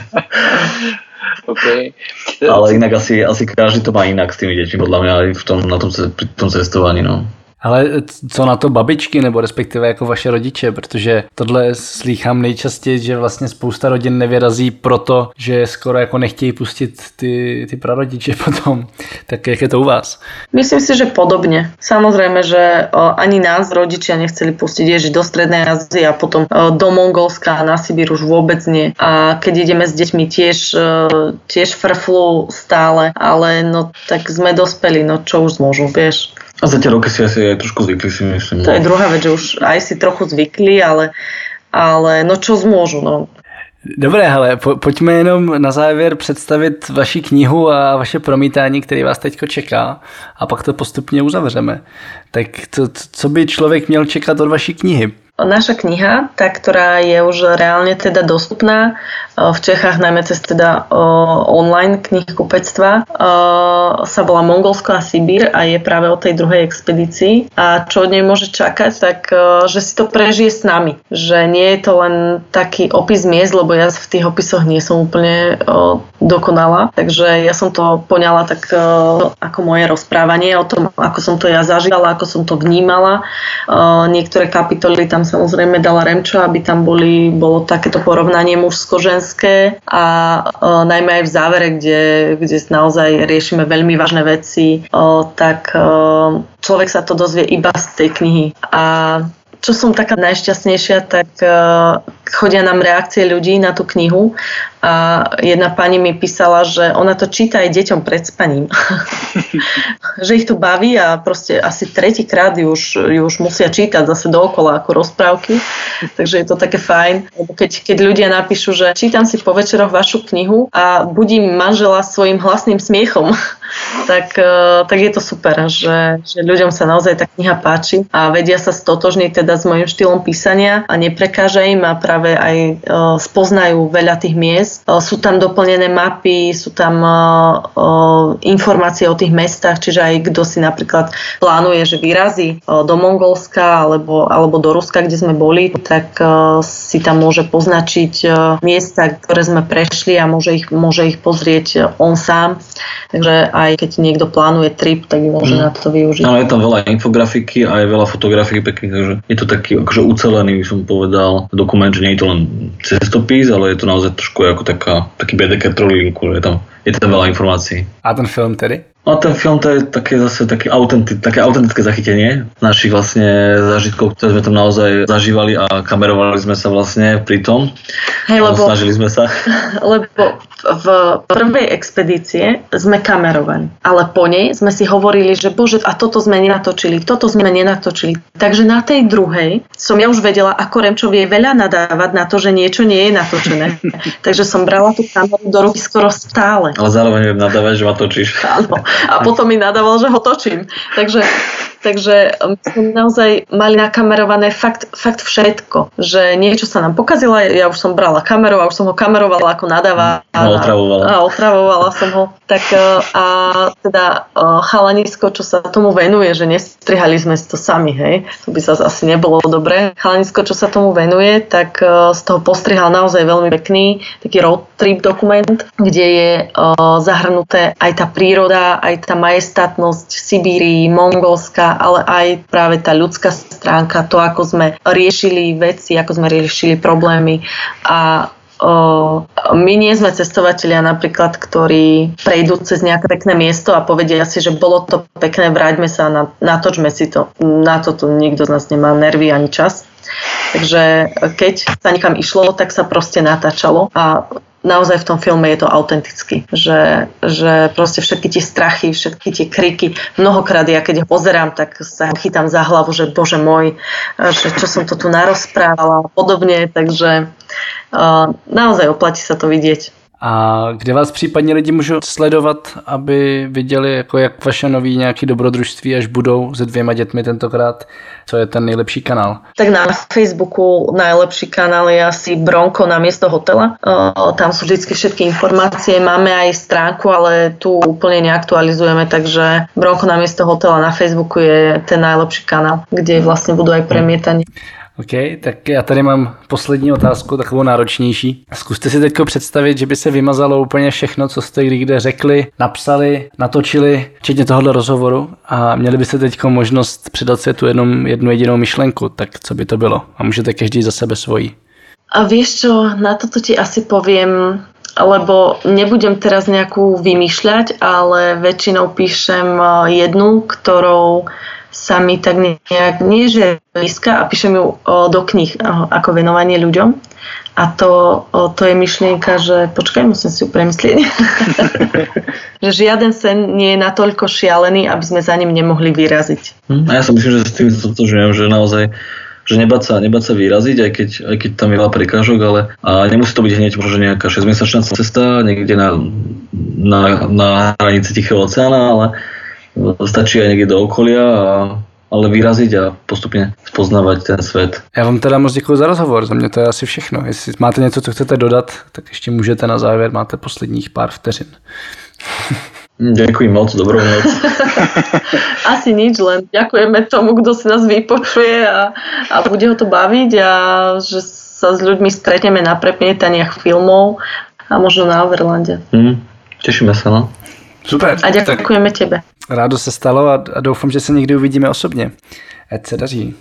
Okay. Ale inak asi, asi každý to má inak s tými deťmi, podľa mňa aj v tom, na tom, pri tom cestovaní. No. Ale co na to babičky, nebo respektive jako vaše rodiče, protože tohle slýchám nejčastěji, že vlastně spousta rodin nevyrazí proto, že skoro jako nechtějí pustit ty, ty prarodiče potom. Tak jak je to u vás? Myslím si, že podobne. Samozrejme, že ani nás rodičia nechceli pustiť ježiť do Strednej Ázie a potom do Mongolska a na Sibír už vôbec nie. A keď ideme s deťmi tiež, tiež frflú stále, ale no tak sme dospeli, no čo už môžu, vieš. A za tie roky si asi aj trošku zvykli, si myslím. To je druhá vec, že už aj si trochu zvykli, ale, ale no čo zmôžu, no. Dobré, hele, po, pojďme jenom na závěr představit vaši knihu a vaše promítání, který vás teďko čeká a pak to postupně uzavřeme. Tak to, co by člověk měl čekat od vaší knihy? Naša kniha, tá, ktorá je už reálne teda dostupná v Čechách, najmä cez teda online knihkupectva, sa volá Mongolsko a Sibír a je práve o tej druhej expedícii. A čo od nej môže čakať, tak že si to prežije s nami. Že nie je to len taký opis miest, lebo ja v tých opisoch nie som úplne dokonalá. Takže ja som to poňala tak ako moje rozprávanie o tom, ako som to ja zažívala, ako som to vnímala. Niektoré kapitoly tam samozrejme dala Remčo, aby tam boli, bolo takéto porovnanie mužsko-ženské a o, najmä aj v závere, kde, kde naozaj riešime veľmi vážne veci, o, tak o, človek sa to dozvie iba z tej knihy. A čo som taká najšťastnejšia, tak uh, chodia nám reakcie ľudí na tú knihu a jedna pani mi písala, že ona to číta aj deťom pred spaním. Že ich to baví a proste asi tretíkrát ju už, ju už musia čítať zase dookola ako rozprávky. Takže je to také fajn. Lebo keď, keď ľudia napíšu, že čítam si po večeroch vašu knihu a budím manžela svojim hlasným smiechom, tak, uh, tak je to super, že, že ľuďom sa naozaj tá kniha páči a vedia sa stotožniť teda s mojím štýlom písania a neprekáža im a práve aj e, spoznajú veľa tých miest. E, sú tam doplnené mapy, sú tam e, e, informácie o tých mestách, čiže aj kto si napríklad plánuje, že vyrazí e, do Mongolska alebo, alebo do Ruska, kde sme boli, tak e, si tam môže poznačiť e, miesta, ktoré sme prešli a môže ich, môže ich pozrieť e, on sám. Takže aj keď niekto plánuje trip, tak môže mm. na to využiť. Áno, je tam veľa infografiky a aj veľa fotografií pekných, takže je to taký akože ucelený, by som povedal, dokument, že nie je to len cestopis, ale je to naozaj trošku ako taká, taký bé dé ká trojlinku, je tam, je tam veľa informácií. A ten film tedy? A ten film to je také zase také, autentic, také autentické zachytenie našich vlastne zážitkov, ktoré sme tam naozaj zažívali a kamerovali sme sa vlastne pri tom. Hej, lebo, snažili sme sa. Lebo v prvej expedície sme kamerovali, ale po nej sme si hovorili, že bože, a toto sme nenatočili, toto sme nenatočili. Takže na tej druhej som ja už vedela, ako Remčo vie veľa nadávať na to, že niečo nie je natočené. Takže som brala tú kameru do ruky skoro stále. Ale zároveň viem nadávať, že ma točíš. Áno. A potom mi nadával, že ho točím. Takže Takže my sme naozaj mali nakamerované fakt, fakt všetko. Že niečo sa nám pokazilo, ja už som brala kameru a už som ho kamerovala ako nadáva. A otravovala. A otravovala som ho. Tak a teda chalanisko, čo sa tomu venuje, že nestrihali sme si to sami, hej. To by sa asi nebolo dobré. Chalanisko, čo sa tomu venuje, tak z toho postrihal naozaj veľmi pekný taký road trip dokument, kde je zahrnuté aj tá príroda, aj tá majestátnosť Sibírii, Mongolska, ale aj práve tá ľudská stránka, to, ako sme riešili veci, ako sme riešili problémy. A o, my nie sme cestovatelia napríklad, ktorí prejdú cez nejaké pekné miesto a povedia si, že bolo to pekné, vráťme sa, na, natočme si to. Na to tu nikto z nás nemá nervy ani čas. Takže keď sa niekam išlo, tak sa proste natáčalo a naozaj v tom filme je to autenticky, že, že proste všetky tie strachy, všetky tie kriky, mnohokrát ja keď ho pozerám, tak sa chytám za hlavu, že bože môj, že čo som to tu narozprávala a podobne, takže uh, naozaj oplatí sa to vidieť. A kde vás případně lidi můžou sledovat, aby viděli, jako jak vaše nový nějaký dobrodružství, až budou se dvěma dětmi tentokrát, co je ten nejlepší kanál? Tak na Facebooku najlepší kanál je asi Bronko na miesto hotela. Tam sú vždy všetky informácie. Máme aj stránku, ale tu úplne neaktualizujeme, takže Bronko na miesto hotela na Facebooku je ten najlepší kanál, kde vlastne budú aj premietanie. OK, tak já tady mám poslední otázku, takovou náročnější. Zkuste si teď představit, že by se vymazalo úplně všechno, co jste kdy řekli, napsali, natočili, včetně tohoto rozhovoru a měli byste teď možnost předat světu jenom jednu jedinou myšlenku, tak co by to bylo? A můžete každý za sebe svojí. A vieš čo, na toto ti asi poviem, lebo nebudem teraz nejakú vymýšľať, ale väčšinou píšem jednu, ktorou sa mi tak nejak, nie že blízka, a píšem ju do kníh ako venovanie ľuďom. A to, to je myšlienka, že počkaj, musím si ju premyslieť. Že žiaden sen nie je natoľko šialený, aby sme za ním nemohli vyraziť. A ja si myslím, že s tým stotožňujem, že naozaj že nebáť sa, nebáť sa vyraziť, aj keď, aj keď tam je veľa prekážok, ale a nemusí to byť hneď možno nejaká šesťmesačná cesta niekde na, na, na hranici Tichého oceána, ale stačí aj niekde do okolia, a, ale vyraziť a postupne spoznávať ten svet. Já vám teda moc děkuji za rozhovor, za mě to je asi všechno. Jestli máte něco, co chcete dodat, tak ještě můžete na závěr, máte posledních pár vteřin. Ďakujem moc, dobrou noc. Asi nič, len ďakujeme tomu, kto si nás vypočuje a, a bude ho to baviť a že sa s ľuďmi stretneme na premietaniach filmov a možno na Overlande. Hmm, tešíme sa, no. Super. A ďakujeme tebe. Rádo se stalo a, a doufám, že se někdy uvidíme osobně. Ať se daří.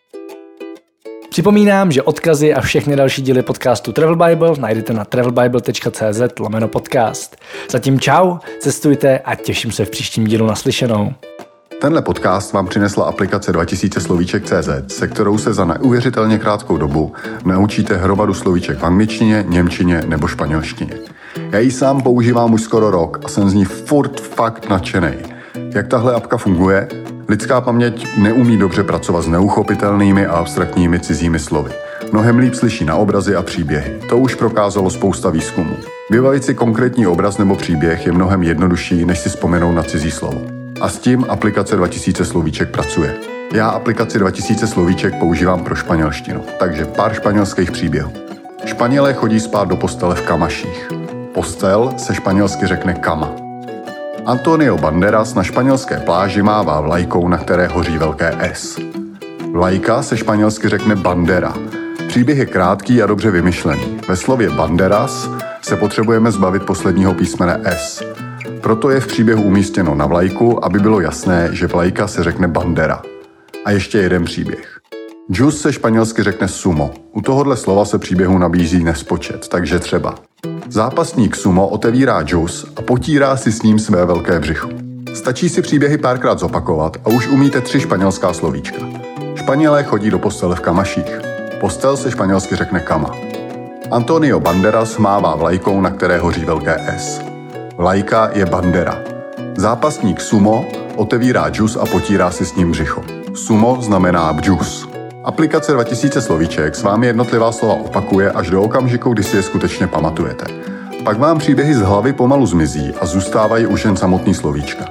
Připomínám, že odkazy a všechny další díly podcastu Travel Bible najdete na travelbible tečka cz lomeno podcast. Zatím čau, cestujte a těším se v příštím dílu naslyšenou. Tenhle podcast vám přinesla aplikace dva tisíce slovíček tečka cz, se kterou se za neuvěřitelně krátkou dobu naučíte hromadu slovíček v angličtině, němčině nebo španělštině. Já ji sám používám už skoro rok a jsem z ní furt fakt nadšenej. Jak tahle apka funguje? Lidská paměť neumí dobře pracovat s neuchopitelnými a abstraktními cizími slovy. Mnohem líp slyší na obrazy a příběhy. To už prokázalo spousta výzkumů. Vybavit si konkrétní obraz nebo příběh je mnohem jednodušší, než si vzpomenout na cizí slovo. A s tím aplikace dva tisíce slovíček pracuje. Já aplikaci dva tisíce slovíček používám pro španělštinu, takže pár španělských příběhů. Španělé chodí spát do postele v kamaších. Postel se španělsky řekne cama. Antonio Banderas na španělské pláži mává vlajkou, na které hoří velké S. Vlajka se španělsky řekne bandera. Příběh je krátký a dobře vymyšlený. Ve slově banderas se potřebujeme zbavit posledního písmene S. Proto je v příběhu umístěno na vlajku, aby bylo jasné, že vlajka se řekne bandera. A ještě jeden příběh. Juice se španělsky řekne sumo. U tohohle slova se příběhu nabízí nespočet, takže třeba zápasník sumo otevírá džus a potírá si s ním své velké břicho. Stačí si příběhy párkrát zopakovat a už umíte tři španělská slovíčka. Španělé chodí do postele v kamaších. Postel se španělsky řekne cama. Antonio Banderas mává vlajkou, na které hoří velké S. Vlajka je bandera. Zápasník sumo otevírá džus a potírá si s ním břicho. Sumo znamená džus. Aplikace dva tisíce slovíček s vámi jednotlivá slova opakuje až do okamžiku, kdy si je skutečně pamatujete. Pak vám příběhy z hlavy pomalu zmizí a zůstávají už jen samotný slovíčka.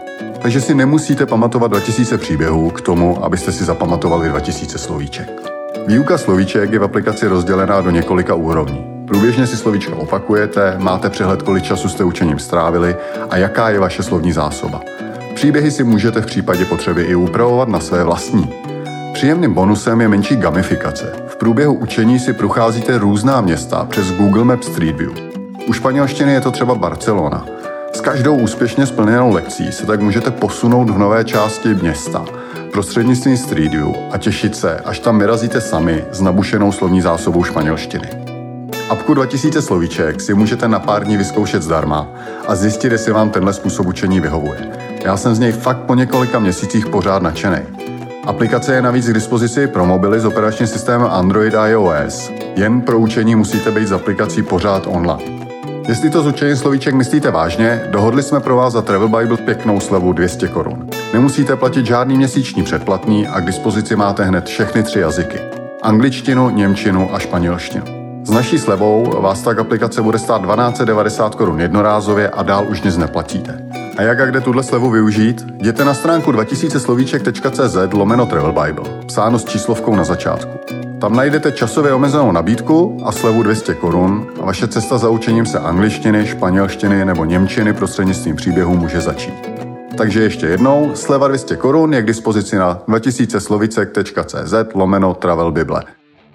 takže si nemusíte pamatovat dva tisíce příběhů k tomu, abyste si zapamatovali dva tisíce slovíček. Výuka slovíček je v aplikaci rozdělená do několika úrovní. Průběžně si slovíčka opakujete, máte přehled, kolik času jste učením strávili a jaká je vaše slovní zásoba. Příběhy si můžete v případě potřeby i upravovat na své vlastní. Příjemným bonusem je menší gamifikace. V průběhu učení si procházíte různá města přes Google Maps Street View. U španělštiny je to třeba Barcelona. S každou úspěšně splněnou lekcí se tak můžete posunout v nové části města prostřednictvím Street View a těšit se, až tam vyrazíte sami s nabušenou slovní zásobou španělštiny. Apku dva tisíce slovíček si můžete na pár dní vyzkoušet zdarma a zjistit, jestli vám tenhle způsob učení vyhovuje. Já jsem z něj fakt po několika měsících pořád nadšenej. Aplikace je navíc k dispozici pro mobily s operačním systémem Android a iOS. Jen pro učení musíte být s aplikací pořád online. Jestli to s učením slovíček myslíte vážně, dohodli jsme pro vás za Travel Bible pěknou slevu dvě stě korun. Nemusíte platit žádný měsíční předplatný a k dispozici máte hned všechny tři jazyky. Angličtinu, němčinu a španělštinu. S naší slevou vás tak aplikace bude stát dvanáct set devadesát korun jednorázově a dál už nic neplatíte. A jak a kde tuhle slevu využít? Jděte na stránku dva tisíce slovíček tečka cé zet lomeno Travel Bible, psáno s číslovkou na začátku. Tam najdete časově omezenou nabídku a slevu dvě stě korun a vaše cesta za učením se angličtiny, španělštiny nebo němčiny prostřednictvím příběhů může začít. Takže ještě jednou, sleva dvě stě korun je k dispozici na dva tisíce slovíček tečka cé zet lomeno Travel Bible.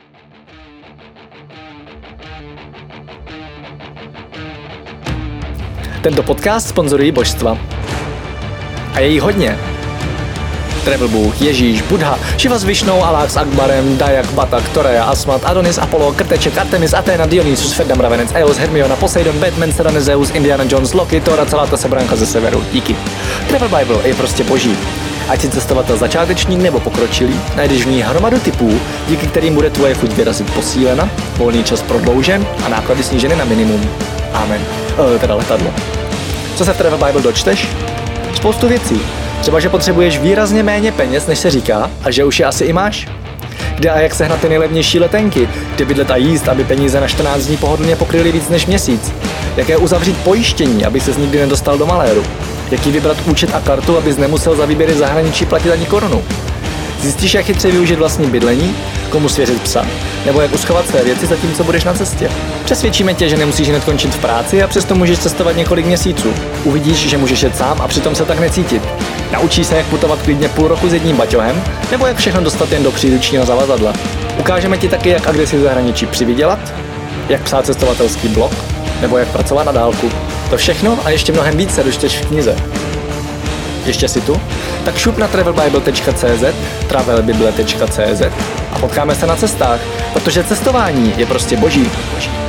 Tento podcast sponzorují božstva. A je jich hodně. Travel Bůh, Ježíš, Buddha, Šiva s Višnou, Alák s Akbarem, Dajak, Batak, Torea, Asmat, Adonis, Apollo, Krteček, Artemis, Athena, Dionysus, Ferdam, Ravenec, Eos, Hermiona, Poseidon, Batman, Serena, Zeus, Indiana Jones, Loki, Thor a celá ta sebranka ze severu. Díky. Travel Bible je prostě boží. Ať si cestovatel začátečník nebo pokročilý, najdeš v ní hromadu typů, díky kterým bude tvoje chuť vyrazit posílena, volný čas prodloužen a náklady sníženy na minimum. Amen. E, teda letadlo. Co se v Travel Bible dočteš? Spoustu věcí. Třeba, že potřebuješ výrazně méně peněz, než se říká, a že už je asi i máš. Kde a jak sehnat ty nejlevnější letenky, kde bydlet a jíst, aby peníze na čtrnáct dní pohodlně pokryly víc než měsíc. Jaké uzavřít pojištění, aby ses nikdy nedostal do maléru. Jaký vybrat účet a kartu, abys nemusel za výběry zahraničí platit ani korunu. Zjistíš, jak chytře využít vlastní bydlení, komu svěřit psa, nebo jak uschovat své věci zatímco budeš na cestě. Přesvědčíme tě, že nemusíš hned končit v práci a přesto můžeš cestovat několik měsíců. Uvidíš, že můžeš jet sám a přitom se tak necítit. Naučíš se, jak putovat klidně půl roku s jedním baťohem, nebo jak všechno dostat jen do příručního zavazadla. Ukážeme ti taky, jak a kde si v zahraničí přivydělat, jak psát cestovatelský blog, nebo jak pracovat na dálku. To všechno a ještě mnohem víc se dočteš v knize. Ještě si tu? Tak šup na travel bible tečka cé zet, travel bible tečka cé zet a potkáme se na cestách, protože cestování je prostě boží. boží.